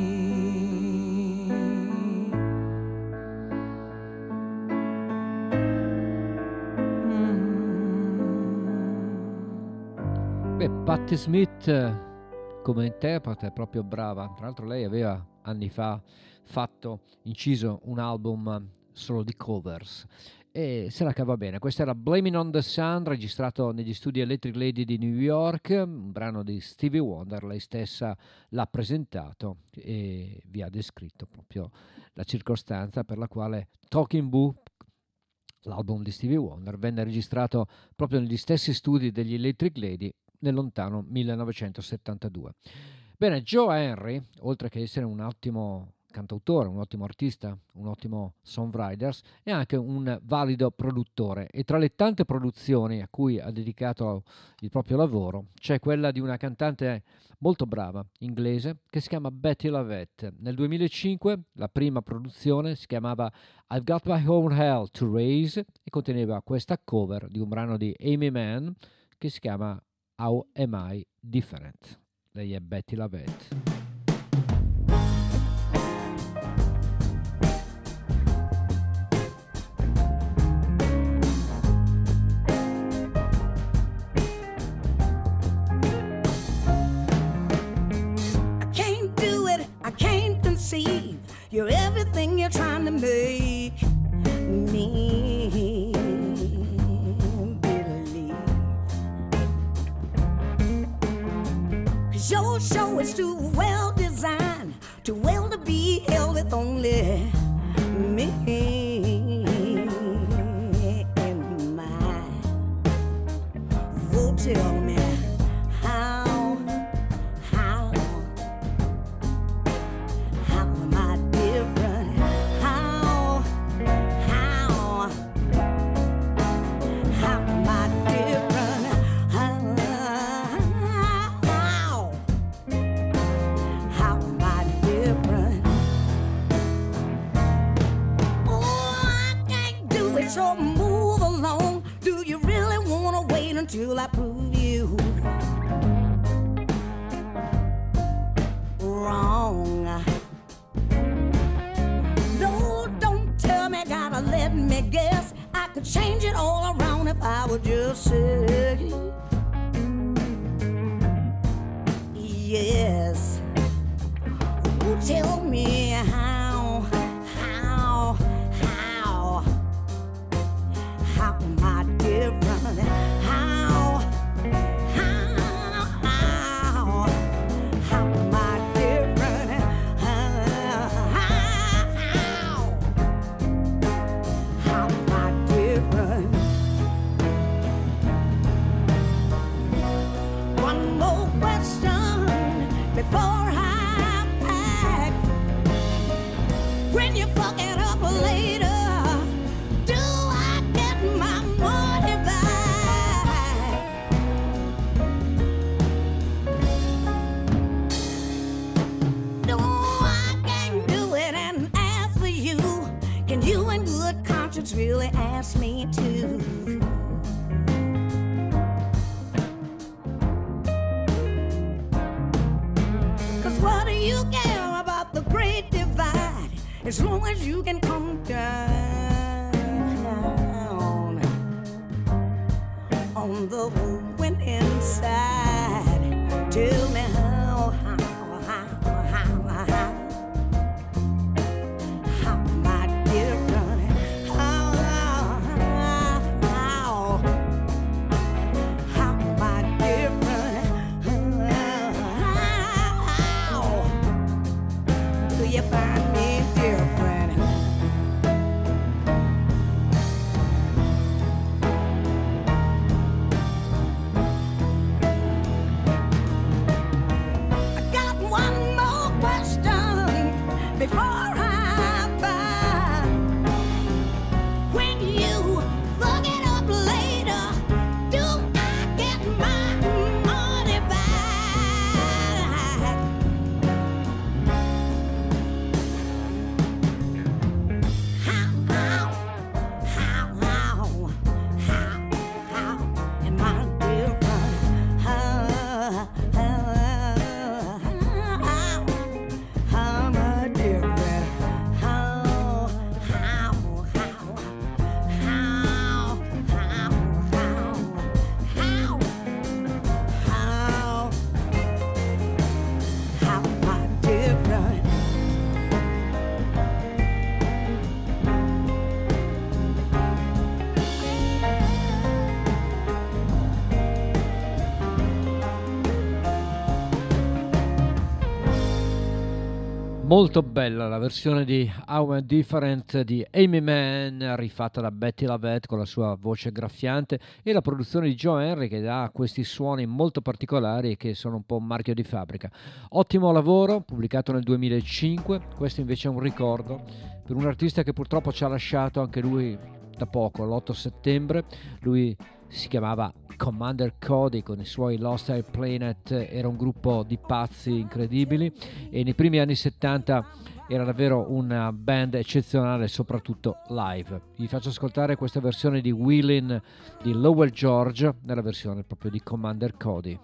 Beh, Patti Smith come interprete è proprio brava. Tra l'altro lei aveva anni fa fatto, inciso un album solo di covers e se la cava bene. Questo era Blaming on the Sun, registrato negli studi Electric Lady di New York, un brano di Stevie Wonder. Lei stessa l'ha presentato e vi ha descritto proprio la circostanza per la quale Talking Book, l'album di Stevie Wonder, venne registrato proprio negli stessi studi degli Electric Lady nel lontano millenovecentosettantadue. Bene, Joe Henry, oltre che essere un ottimo cantautore, un ottimo artista, un ottimo songwriter, è anche un valido produttore e tra le tante produzioni a cui ha dedicato il proprio lavoro c'è quella di una cantante molto brava inglese che si chiama Bettye LaVette. Nel duemilacinque la prima produzione si chiamava I've Got My Own Hell to Raise e conteneva questa cover di un brano di Amy Mann che si chiama How Am I Different? Lei è Bettye LaVette. You're everything you're trying to make me believe. 'Cause your show is too well designed, too well to be held with only me in mind. Oh, tell me how. So move along. Do you really wanna wait until I prove you wrong? No, don't tell me, gotta let me guess. I could change it all around if I would just say yes. Oh, tell me how, how, how. How am I different? How, how, how, how am I different? How, how, how am I different? One more question before I pack. When you fuck it up later, really ask me to. Cause what do you care about the great divide as long as you can come down on the winning side? Tell me how, how, how, how, how. How am I different? before I buy. When you look it up later, do I get my money back? How, how, how, how, how, how am I different? How, how, how, how am I different? How, how, how, how, how, how, how, how am I different? Molto bella la versione di How I'm Different di Amy Mann, rifatta da Betty Lavette con la sua voce graffiante, e la produzione di Joe Henry che dà questi suoni molto particolari che sono un po' un marchio di fabbrica. Ottimo lavoro, pubblicato nel duemilacinque. Questo invece è un ricordo per un artista che purtroppo ci ha lasciato anche lui da poco, l'otto settembre. Lui si chiamava Commander Cody con i suoi Lost Air Planet, era un gruppo di pazzi incredibili e nei primi anni settanta era davvero una band eccezionale, soprattutto live. Vi faccio ascoltare questa versione di Willin' di Lowell George nella versione proprio di Commander Cody.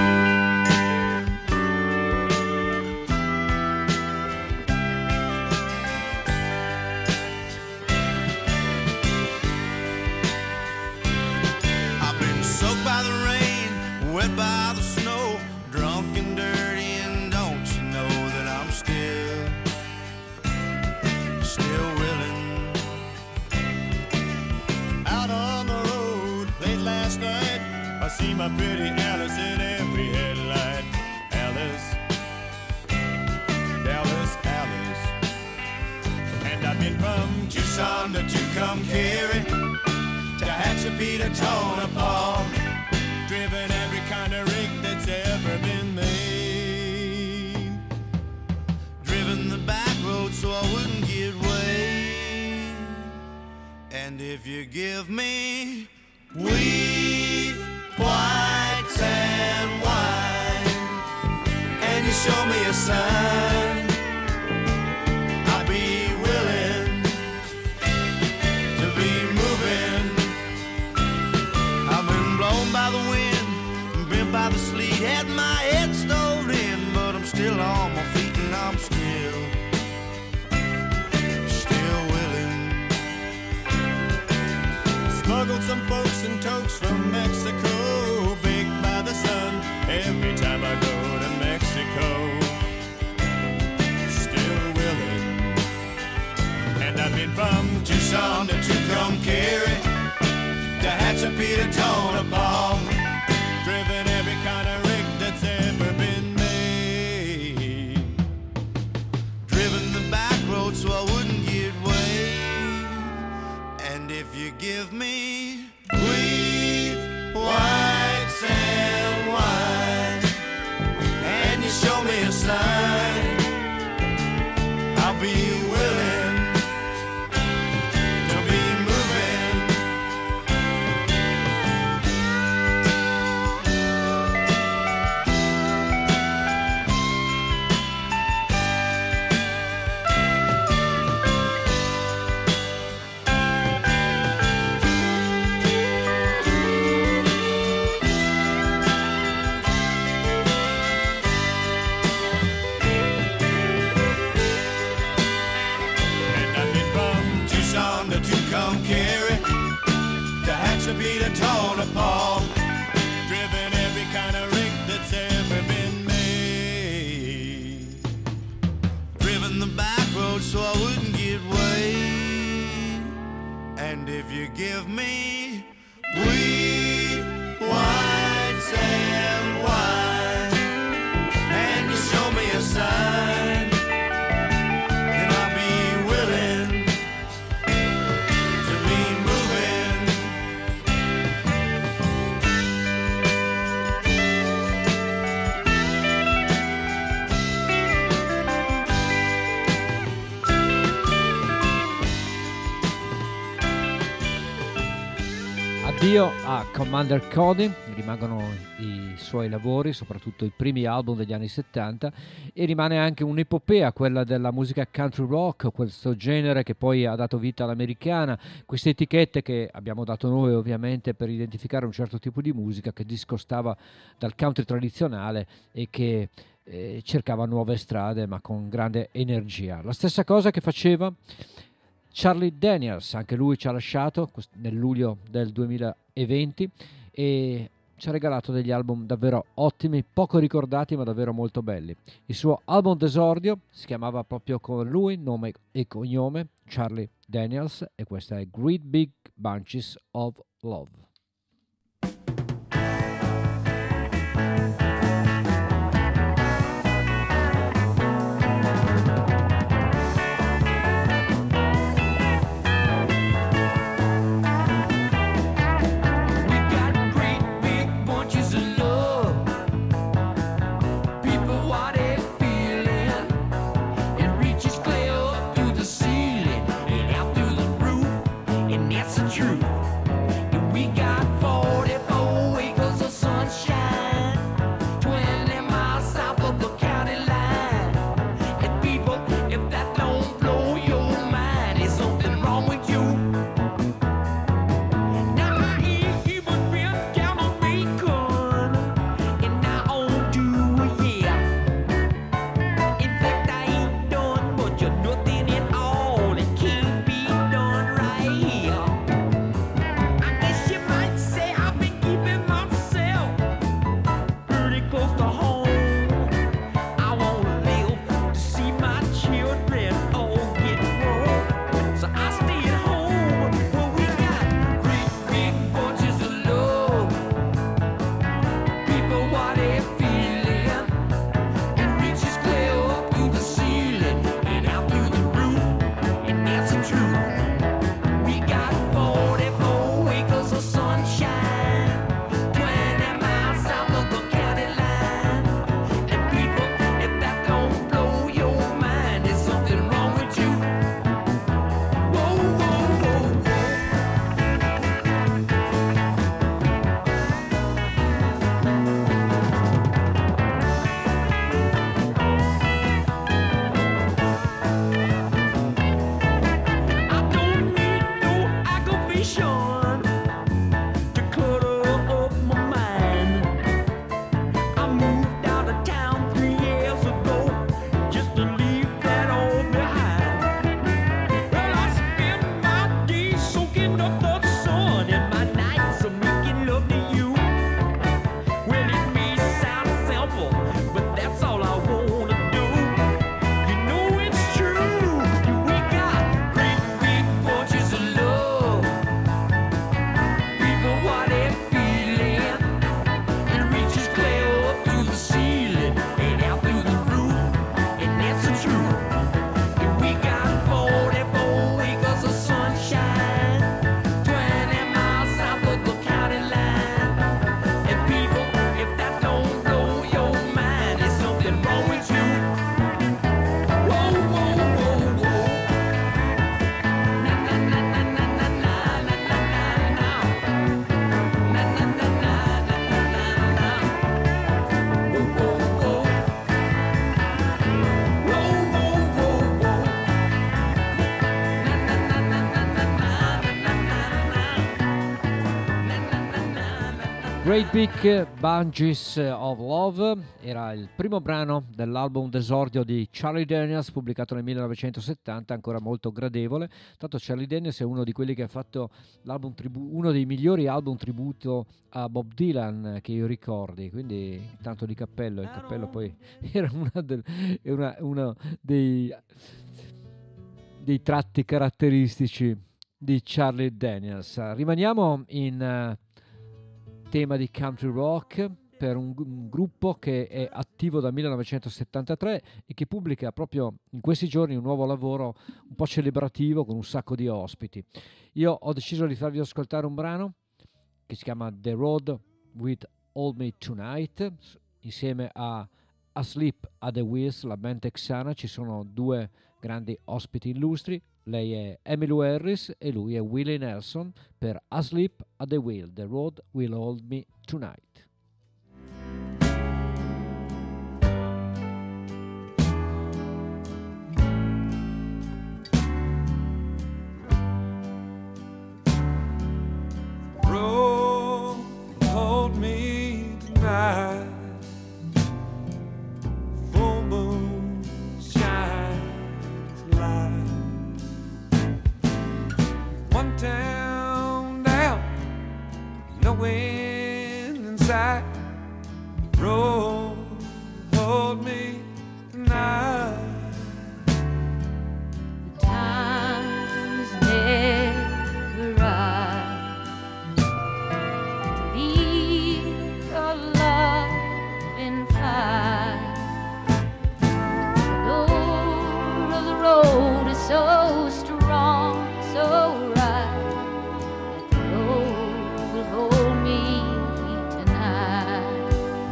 By the rain, wet by the snow, drunk and dirty, and don't you know that I'm still, still willing. Out on the road, late last night, I see my pretty Alice in every headlight. Alice, Alice, Alice. And I've been from Tucson to Tucumcari, to Hatshepsut, to Tonopah, driven every kind of rig that's ever been made, driven the back road so I wouldn't get way. And if you give me wheat, white sand wine, and you show me a sign, I'll be willing to be moving. I've been blown by the wind, bent by the sleet, had my head stove in, but I'm still on my feet and I'm still, still willing. Smuggled some folks and tokes from Mexico, baked by the sun every time I go to Mexico. Still willing. And I've been from Tucson to Tucumcari, to Hatshepsut, to Tonopah, driven every kind of rig that's ever been made, driven the back road so I wouldn't get way. And if you give me wheat, white sand wine, and you show me a sign, I'll be willing to be moving. Tucumcari, to Hatshepsut, to Tonopah, driven every kind of rig that's ever been made, driven the back road so I wouldn't get way. And if you give me wheat, white sand wine, and you show me a sign, then I'll be willing to be moving. Addio a Commander Cody, rimangono i suoi lavori, soprattutto i primi album degli anni settanta, e rimane anche un'epopea, quella della musica country rock, questo genere che poi ha dato vita all'americana, queste etichette che abbiamo dato noi ovviamente per identificare un certo tipo di musica che discostava dal country tradizionale e che eh, cercava nuove strade ma con grande energia. La stessa cosa che faceva Charlie Daniels, anche lui ci ha lasciato nel luglio del duemilaventi e ci ha regalato degli album davvero ottimi, poco ricordati ma davvero molto belli. Il suo album d'esordio si chiamava proprio con lui, nome e cognome, Charlie Daniels, e questa è Great Big Bunches of Love. Truth. And we got forty-four acres of sunshine, twenty miles south of the county line. And people, if that don't blow your mind, there's something wrong with you. Now I ain't even been down on Macon, and I own two a year. In fact, I ain't done much of nothing at all. It can't be done right here. Great Big Bunches of Love era il primo brano dell'album d'esordio di Charlie Daniels, pubblicato nel millenovecentosettanta, ancora molto gradevole. Tanto Charlie Daniels è uno di quelli che ha fatto l'album tribu- uno dei migliori album tributo a Bob Dylan che io ricordi, quindi tanto di cappello. Il cappello poi era una, del, una, una dei, dei tratti caratteristici di Charlie Daniels. Rimaniamo in uh, tema di country rock per un, un gruppo che è attivo dal millenovecentosettantatré e che pubblica proprio in questi giorni un nuovo lavoro un po' celebrativo con un sacco di ospiti. Io ho deciso di farvi ascoltare un brano che si chiama The Road with Hold Me Tonight, insieme a Asleep at the Wheels, la band texana. Ci sono due grandi ospiti illustri, Lei è Emmylou Harris e lui è Willie Nelson per Asleep at the Wheel, The Road Will Hold Me Tonight. Road hold me tonight. Full moon shines light. One town down, no wind in sight. Road hold me tonight. The time is never right to leave your love in fight. The Lord of the road is so strong, so right, that the road will hold me tonight.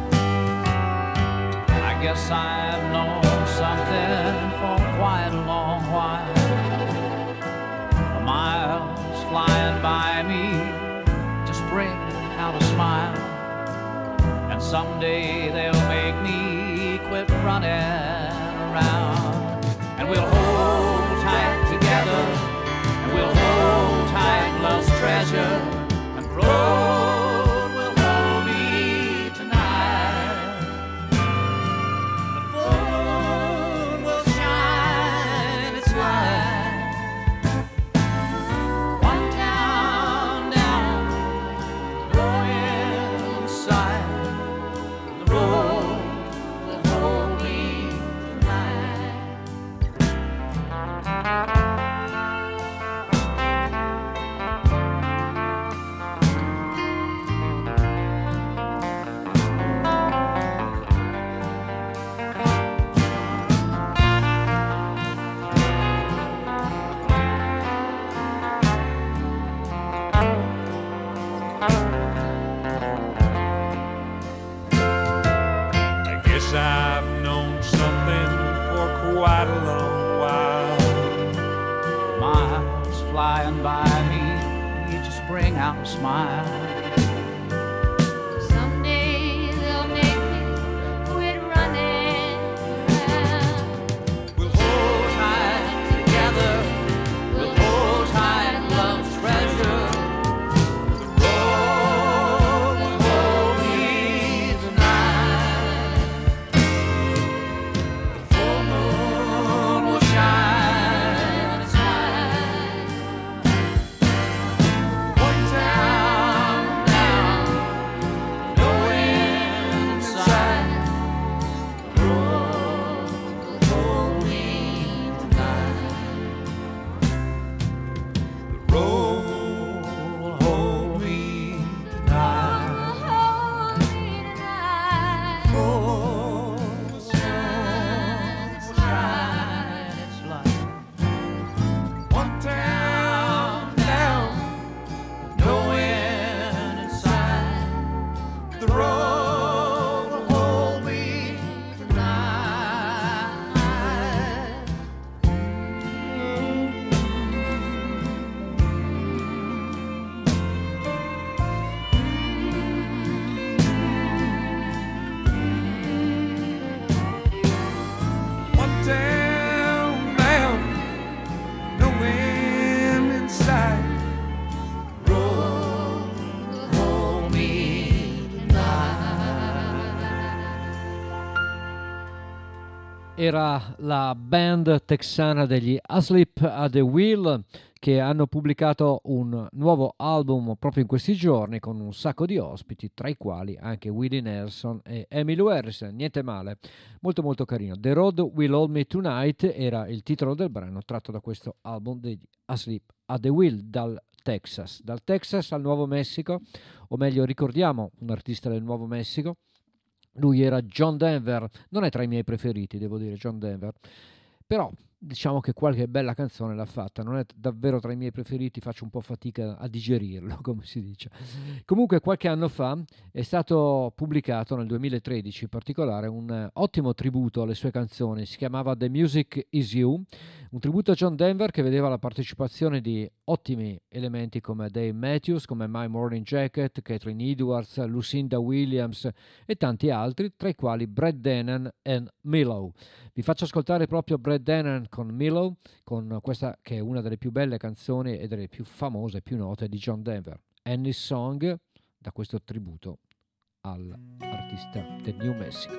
I guess I've known something for quite a long while. The miles flying by me just bring out a smile, and someday they'll make me quit running around. And we'll hold tight together, and we'll hold tight love's treasure, and the road will hold me tonight. The full moon will shine its light. One town down, no inside. The road will hold me tonight. I guess I've known something for quite a long while. Miles flying by me, you just bring out a smile. Someday they'll make me quit running around. We'll hold tight together, we'll hold tight love's treasure. The road will hold me tonight. The full moon will shine its light. One town down, no wind in sight. The road will hold me tonight. The road will hold me tonight. Hold me tonight. Oh, the sun will shine its light. One town down, no wind in sight. The road will hold me tonight. One town down, no wind in sight. Road will hold me tonight. Era la band texana degli Asleep at the Wheel, che hanno pubblicato un nuovo album proprio in questi giorni con un sacco di ospiti, tra i quali anche Willie Nelson e Emmylou Harris. Niente male, molto molto carino. The Road Will Hold Me Tonight era il titolo del brano tratto da questo album degli Asleep at the Wheel dal Texas. Dal Texas al Nuovo Messico, o meglio ricordiamo un artista del Nuovo Messico. Lui era John Denver, non è tra i miei preferiti, devo dire, John Denver, però diciamo che qualche bella canzone l'ha fatta, non è davvero tra i miei preferiti, faccio un po' fatica a digerirlo, come si dice. Comunque qualche anno fa è stato pubblicato, nel duemilatredici in particolare, un ottimo tributo alle sue canzoni, si chiamava The Music Is You, un tributo a John Denver che vedeva la partecipazione di ottimi elementi come Dave Matthews, come My Morning Jacket, Catherine Edwards, Lucinda Williams e tanti altri, tra i quali Brad Dennen e Milo. Vi faccio ascoltare proprio Brad Dennen con Milo, con questa che è una delle più belle canzoni e delle più famose, più note di John Denver, Annie's Song, da questo tributo all'artista del New Mexico.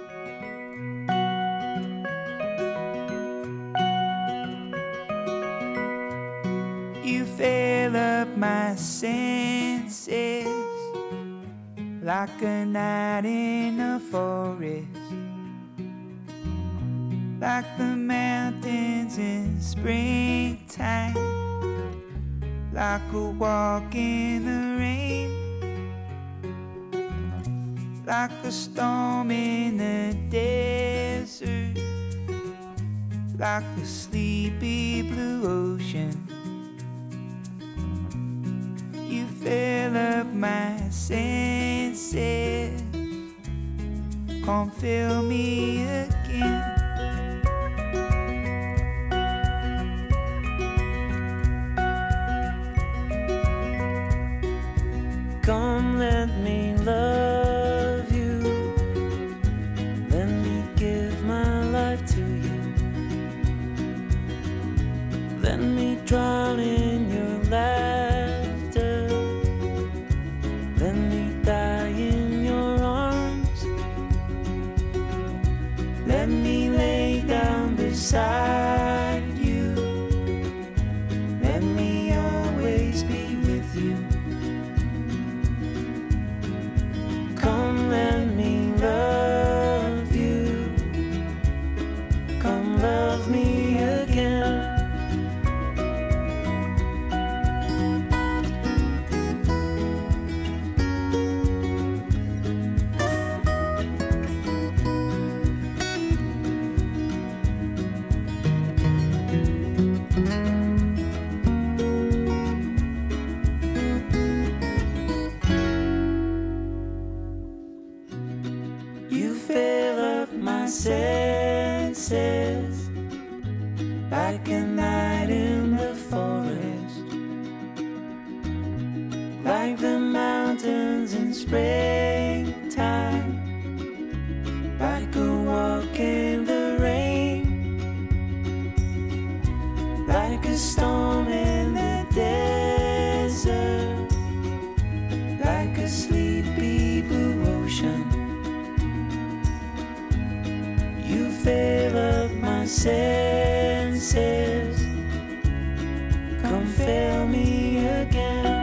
You fill up my senses like a night in a forest, like the mountains in springtime, like a walk in the rain, like a storm in the desert, like a sleepy blue ocean. You fill up my senses, come fill me again. Come, let me love you. Let me give my life to you. Let me drown in your laughter. Let me die in your arms. Let me lay down beside you. Let me always be with you. Come, let me love you. Come, love me again. Senses like a night in the forest, like the mountains in springtime, like a walk in the rain, like a storm in the desert, like a sleepy blue ocean. You fill up my senses, come fill me again.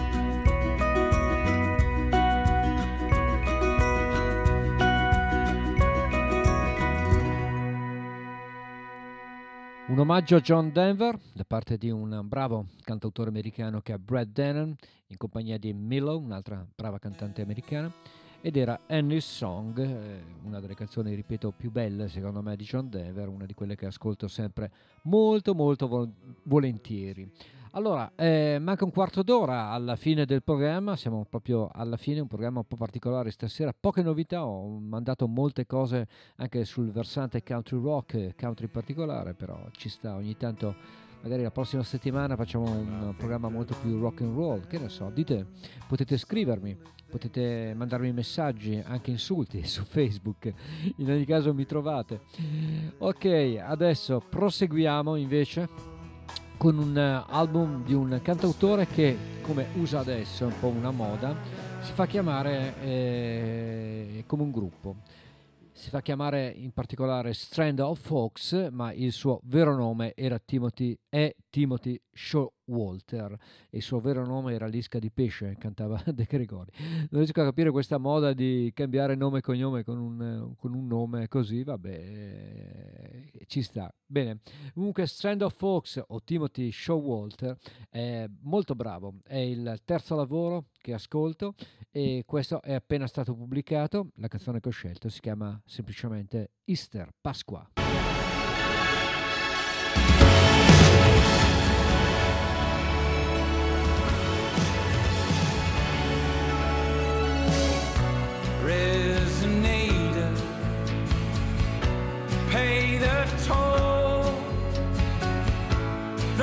Un omaggio a John Denver da parte di un bravo cantautore americano che è Brad Dennen, in compagnia di Milo, un'altra brava cantante americana, ed era Annie's Song, eh, una delle canzoni, ripeto, più belle secondo me di John Denver, una di quelle che ascolto sempre molto molto vol- volentieri. Allora, eh, manca un quarto d'ora alla fine del programma, siamo proprio alla fine, un programma un po' particolare stasera, poche novità, ho mandato molte cose anche sul versante country rock, country in particolare, però ci sta ogni tanto, magari la prossima settimana facciamo un programma molto più rock and roll, che ne so, dite, potete scrivermi, potete mandarmi messaggi, anche insulti su Facebook, in ogni caso mi trovate. Ok, adesso proseguiamo invece con un album di un cantautore che, come usa adesso, è un po' una moda, si fa chiamare eh, come un gruppo. Si fa chiamare in particolare Strand of Fox, ma il suo vero nome era Timothy, è Timothy Showalter, e il suo vero nome era Lisca di Pesce, cantava De Gregori. Non riesco a capire questa moda di cambiare nome e cognome con un, con un nome così, vabbè, ci sta. Bene, comunque Strand of Fox o Timothy Showalter è molto bravo, è il terzo lavoro che ascolto e questo è appena stato pubblicato. La canzone che ho scelto si chiama semplicemente Easter, Pasqua.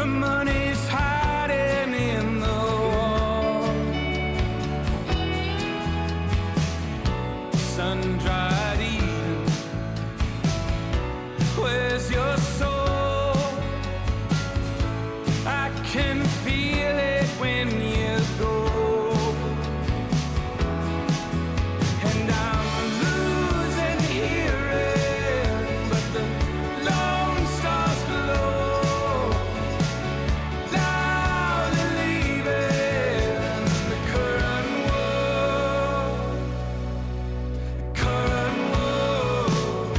The money's hiding in the wall. Sun-dried Eden, where's your soul? I can feel it when you go. And I'm losing hearing, but the lone stars glow. Loudly leaving the current world. Current world.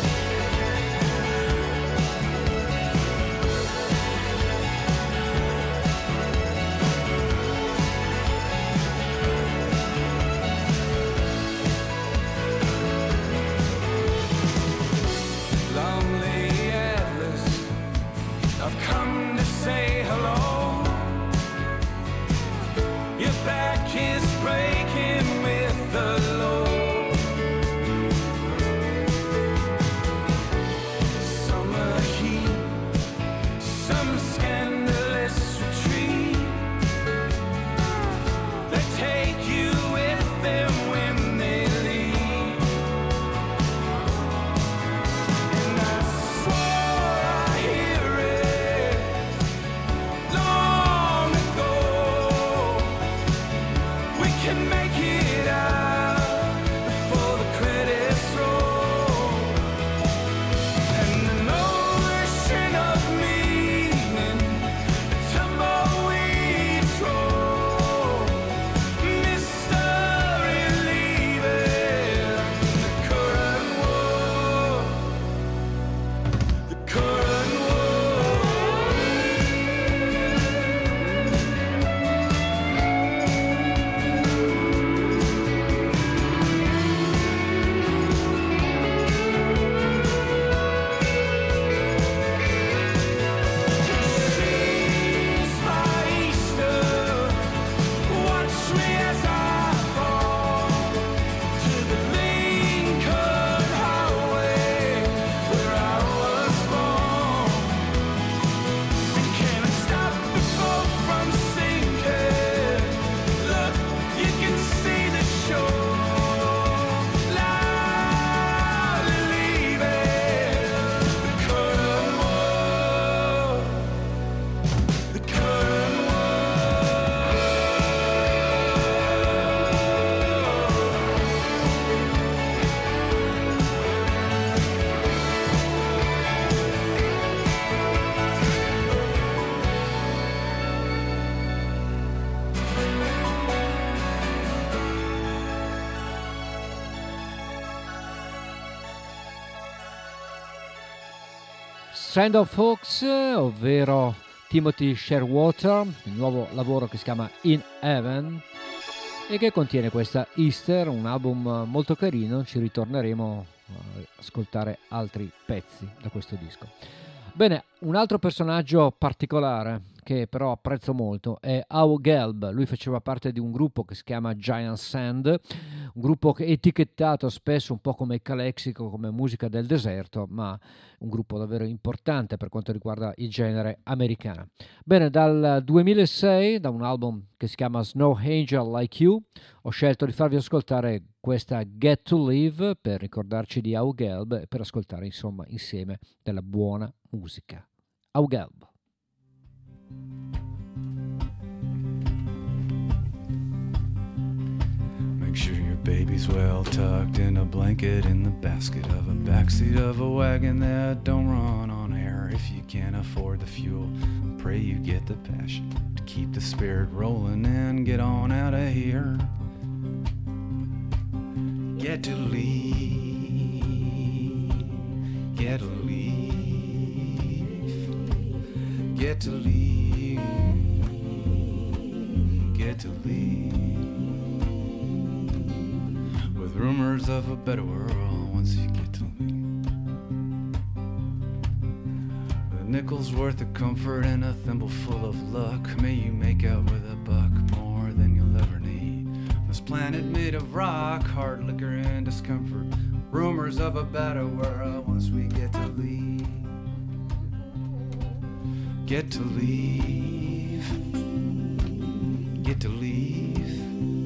Lonely Atlas, I've come to say hello. Your back is breaking with the load. Summer heat, some scandalous retreat. They take you with them when they leave. And I swore I hear it long ago. We can make it out before the credits roll. And an ocean of meaning, a tumbleweed roll. Mystery leaving the current world. The current world. She's my Easter. Watch me as I fall to the Lincoln Highway where I was born. And can I stop the boat from sinking? Look, you can see the shore. Loudly leaving the current world. The current world. Strand of Fox, ovvero Timothy Sherwater, il nuovo lavoro che si chiama In Heaven e che contiene questa Easter, un album molto carino. Ci ritorneremo a ascoltare altri pezzi da questo disco. Bene, un altro personaggio particolare che però apprezzo molto è Au Gelb. Lui faceva parte di un gruppo che si chiama Giant Sand, un gruppo che è etichettato spesso un po' come calexico, come musica del deserto, ma un gruppo davvero importante per quanto riguarda il genere americano. Bene, dal duemilasei, da un album che si chiama Snow Angel Like You, ho scelto di farvi ascoltare questa Get to Live per ricordarci di Au Gelb e per ascoltare insomma insieme della buona musica. Au Gelb. Make sure your baby's well tucked in a blanket in the basket of a backseat of a wagon that don't run on air. If you can't afford the fuel, pray you get the passion to keep the spirit rolling and get on out of here. Get to leave, get to leave, get to leave, get to leave. With rumors of a better world once you get to leave. With a nickel's worth of comfort and a thimbleful of luck, may you make out with a buck more than you'll ever need. This planet made of rock, hard liquor and discomfort. Rumors of a better world once we get to leave. get to leave, get to leave,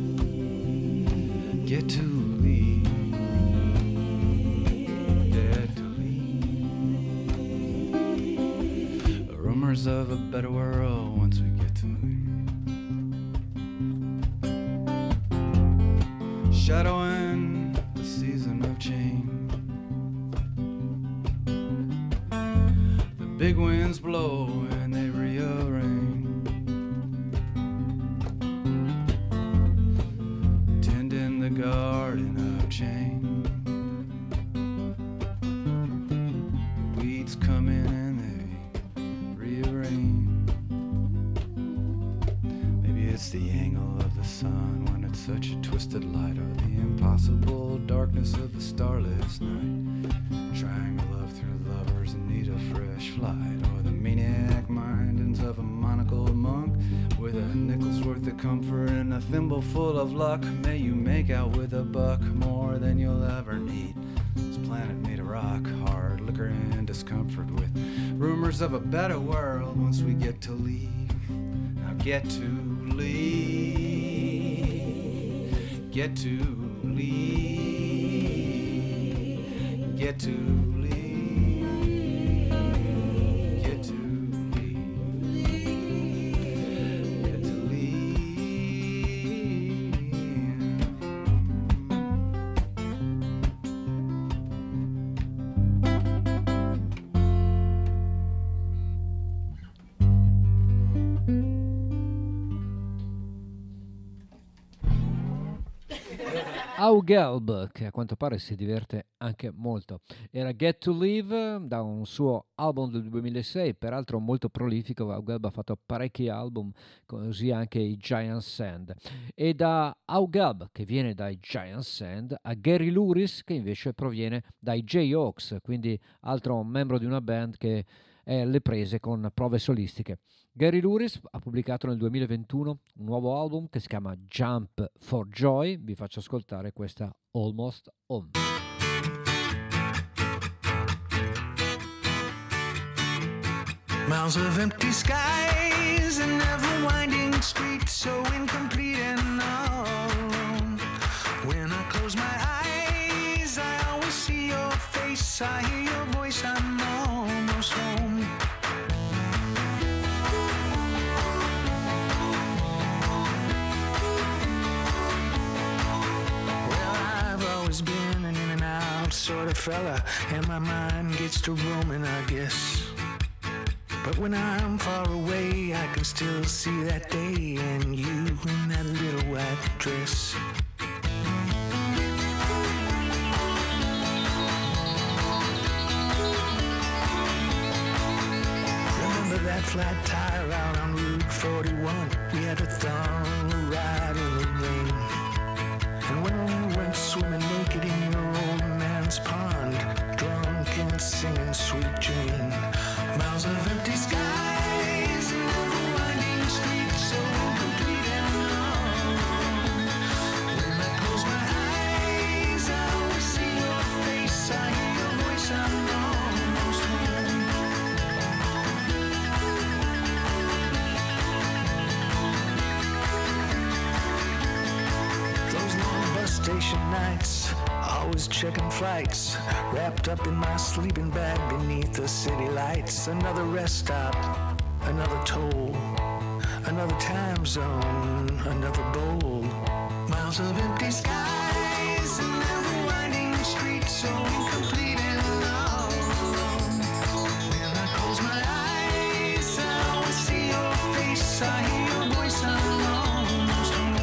get to leave, get to leave. Rumors of a better world once we get to leave. Shadowing the season of change. Big winds blow and they rearrange. Tending the garden of change. Weeds come in and they rearrange. Maybe it's the angle of the sun when it's such a twisted light, or the impossible darkness of the starless night. Triangle of through lovers in need of fresh flight, or the maniac mindings of a monocled monk with a nickel's worth of comfort and a thimble full of luck. May you make out with a buck more than you'll ever need. This planet made of rock, hard liquor and discomfort, with rumors of a better world once we get to leave. Now get to leave, get to leave, get to leave. Augelb, che a quanto pare si diverte anche molto. Era Get to Live da un suo album del duemilasei, peraltro molto prolifico. Augelb ha fatto parecchi album, così anche i Giant Sand. E da Augelb, che viene dai Giant Sand, a Gary Louris, che invece proviene dai Jayhawks, quindi altro membro di una band che è alle prese con prove solistiche. Gary Louris ha pubblicato nel duemilaventuno un nuovo album che si chiama Jump for Joy. Vi faccio ascoltare questa Almost Home. Miles of empty skies and never winding streets, so incomplete and alone. When I close my eyes, I always see your face, I hear your voice, I'm almost home. Been an in and out sort of fella, and my mind gets to roaming, I guess. But when I'm far away, I can still see that day and you in that little white dress. Remember that flat tire out on Route forty-one? We had a thumb ride in the rain. And when we went swimming naked in your old man's pond, drunk and singing Sweet Jane. Miles of empty skies and never winding streets, so complete and long. When I close my eyes, I always see your face, I hear your voice, I'm almost home. Those long bus station nights, always checking flights, wrapped up in my sleeping bag beneath the city lights. Another rest stop, another toll, another time zone, another bowl. Miles of empty skies and never winding streets, so incomplete and alone. When I close my eyes, I always see your face, I hear your voice, I'm almost home.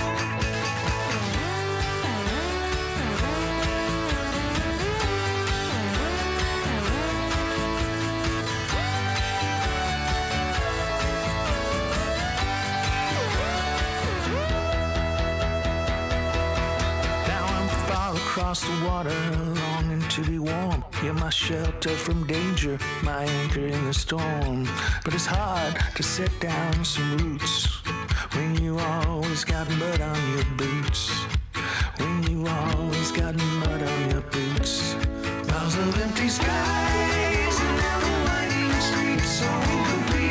Across the water, longing to be warm. You're my shelter from danger, my anchor in the storm. But it's hard to set down some roots when you always got mud on your boots. When you always got mud on your boots. Miles of empty skies and never winding streets, so incomplete.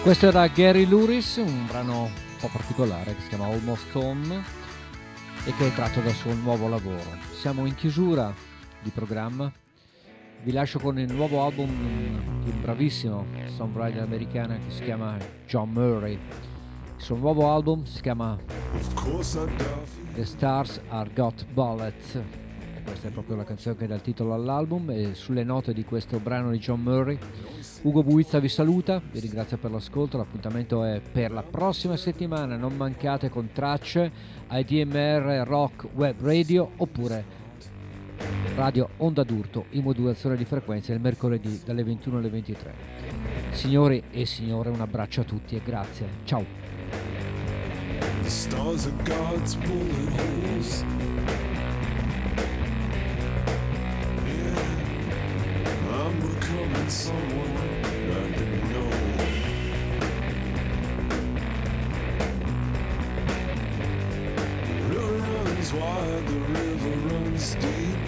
Questo era Gary Louris, un brano un po' particolare che si chiama Almost Home e che è tratto dal suo nuovo lavoro. Siamo in chiusura di programma, vi lascio con il nuovo album di un bravissimo songwriter americano che si chiama John Murray. Il suo nuovo album si chiama The Stars Are Got Bullets. Questa è proprio la canzone che dà il titolo all'album, e sulle note di questo brano di John Murray Ugo Buizza vi saluta, vi ringrazio per l'ascolto. L'appuntamento è per la prossima settimana, non mancate con tracce a I D M R Rock Web Radio oppure Radio Onda d'Urto in modulazione di frequenza il mercoledì dalle ventuno alle ventitré. Signori e signore, un abbraccio a tutti e grazie, ciao. The stars are God's bullet holes. I'm becoming someone I didn't know. The river runs wide, the river runs deep.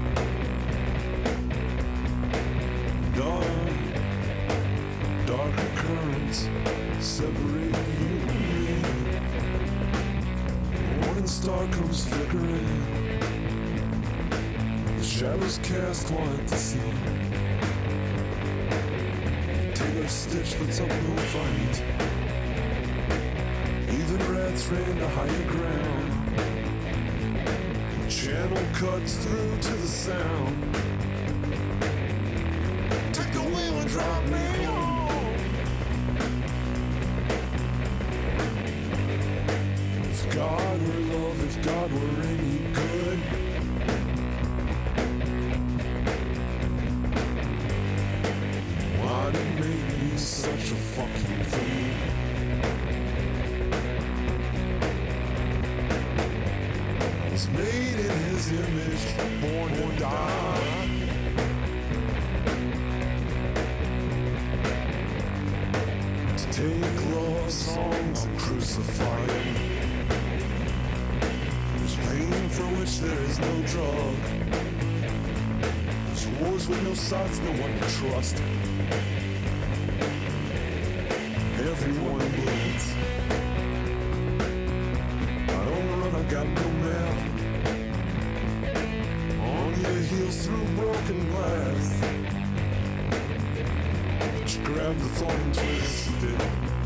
Dark, darker currents separate you and me. The morning star comes flickering. The shadows cast wide to sea. Stitch puts up no fight. Even rats ran to higher ground. The channel cuts through to the sound. Take the wheel and drop me home. If God were love, if God were any good, why'd he make me such a fucking fool? I was made in his image, born to die. To take love songs and crucify them. There's pain for which there is no drug. There's wars with no sides, no one to trust. Everyone bleeds. I don't run, I got no map. On your heels through broken glass. But you grab the thorn and twist it.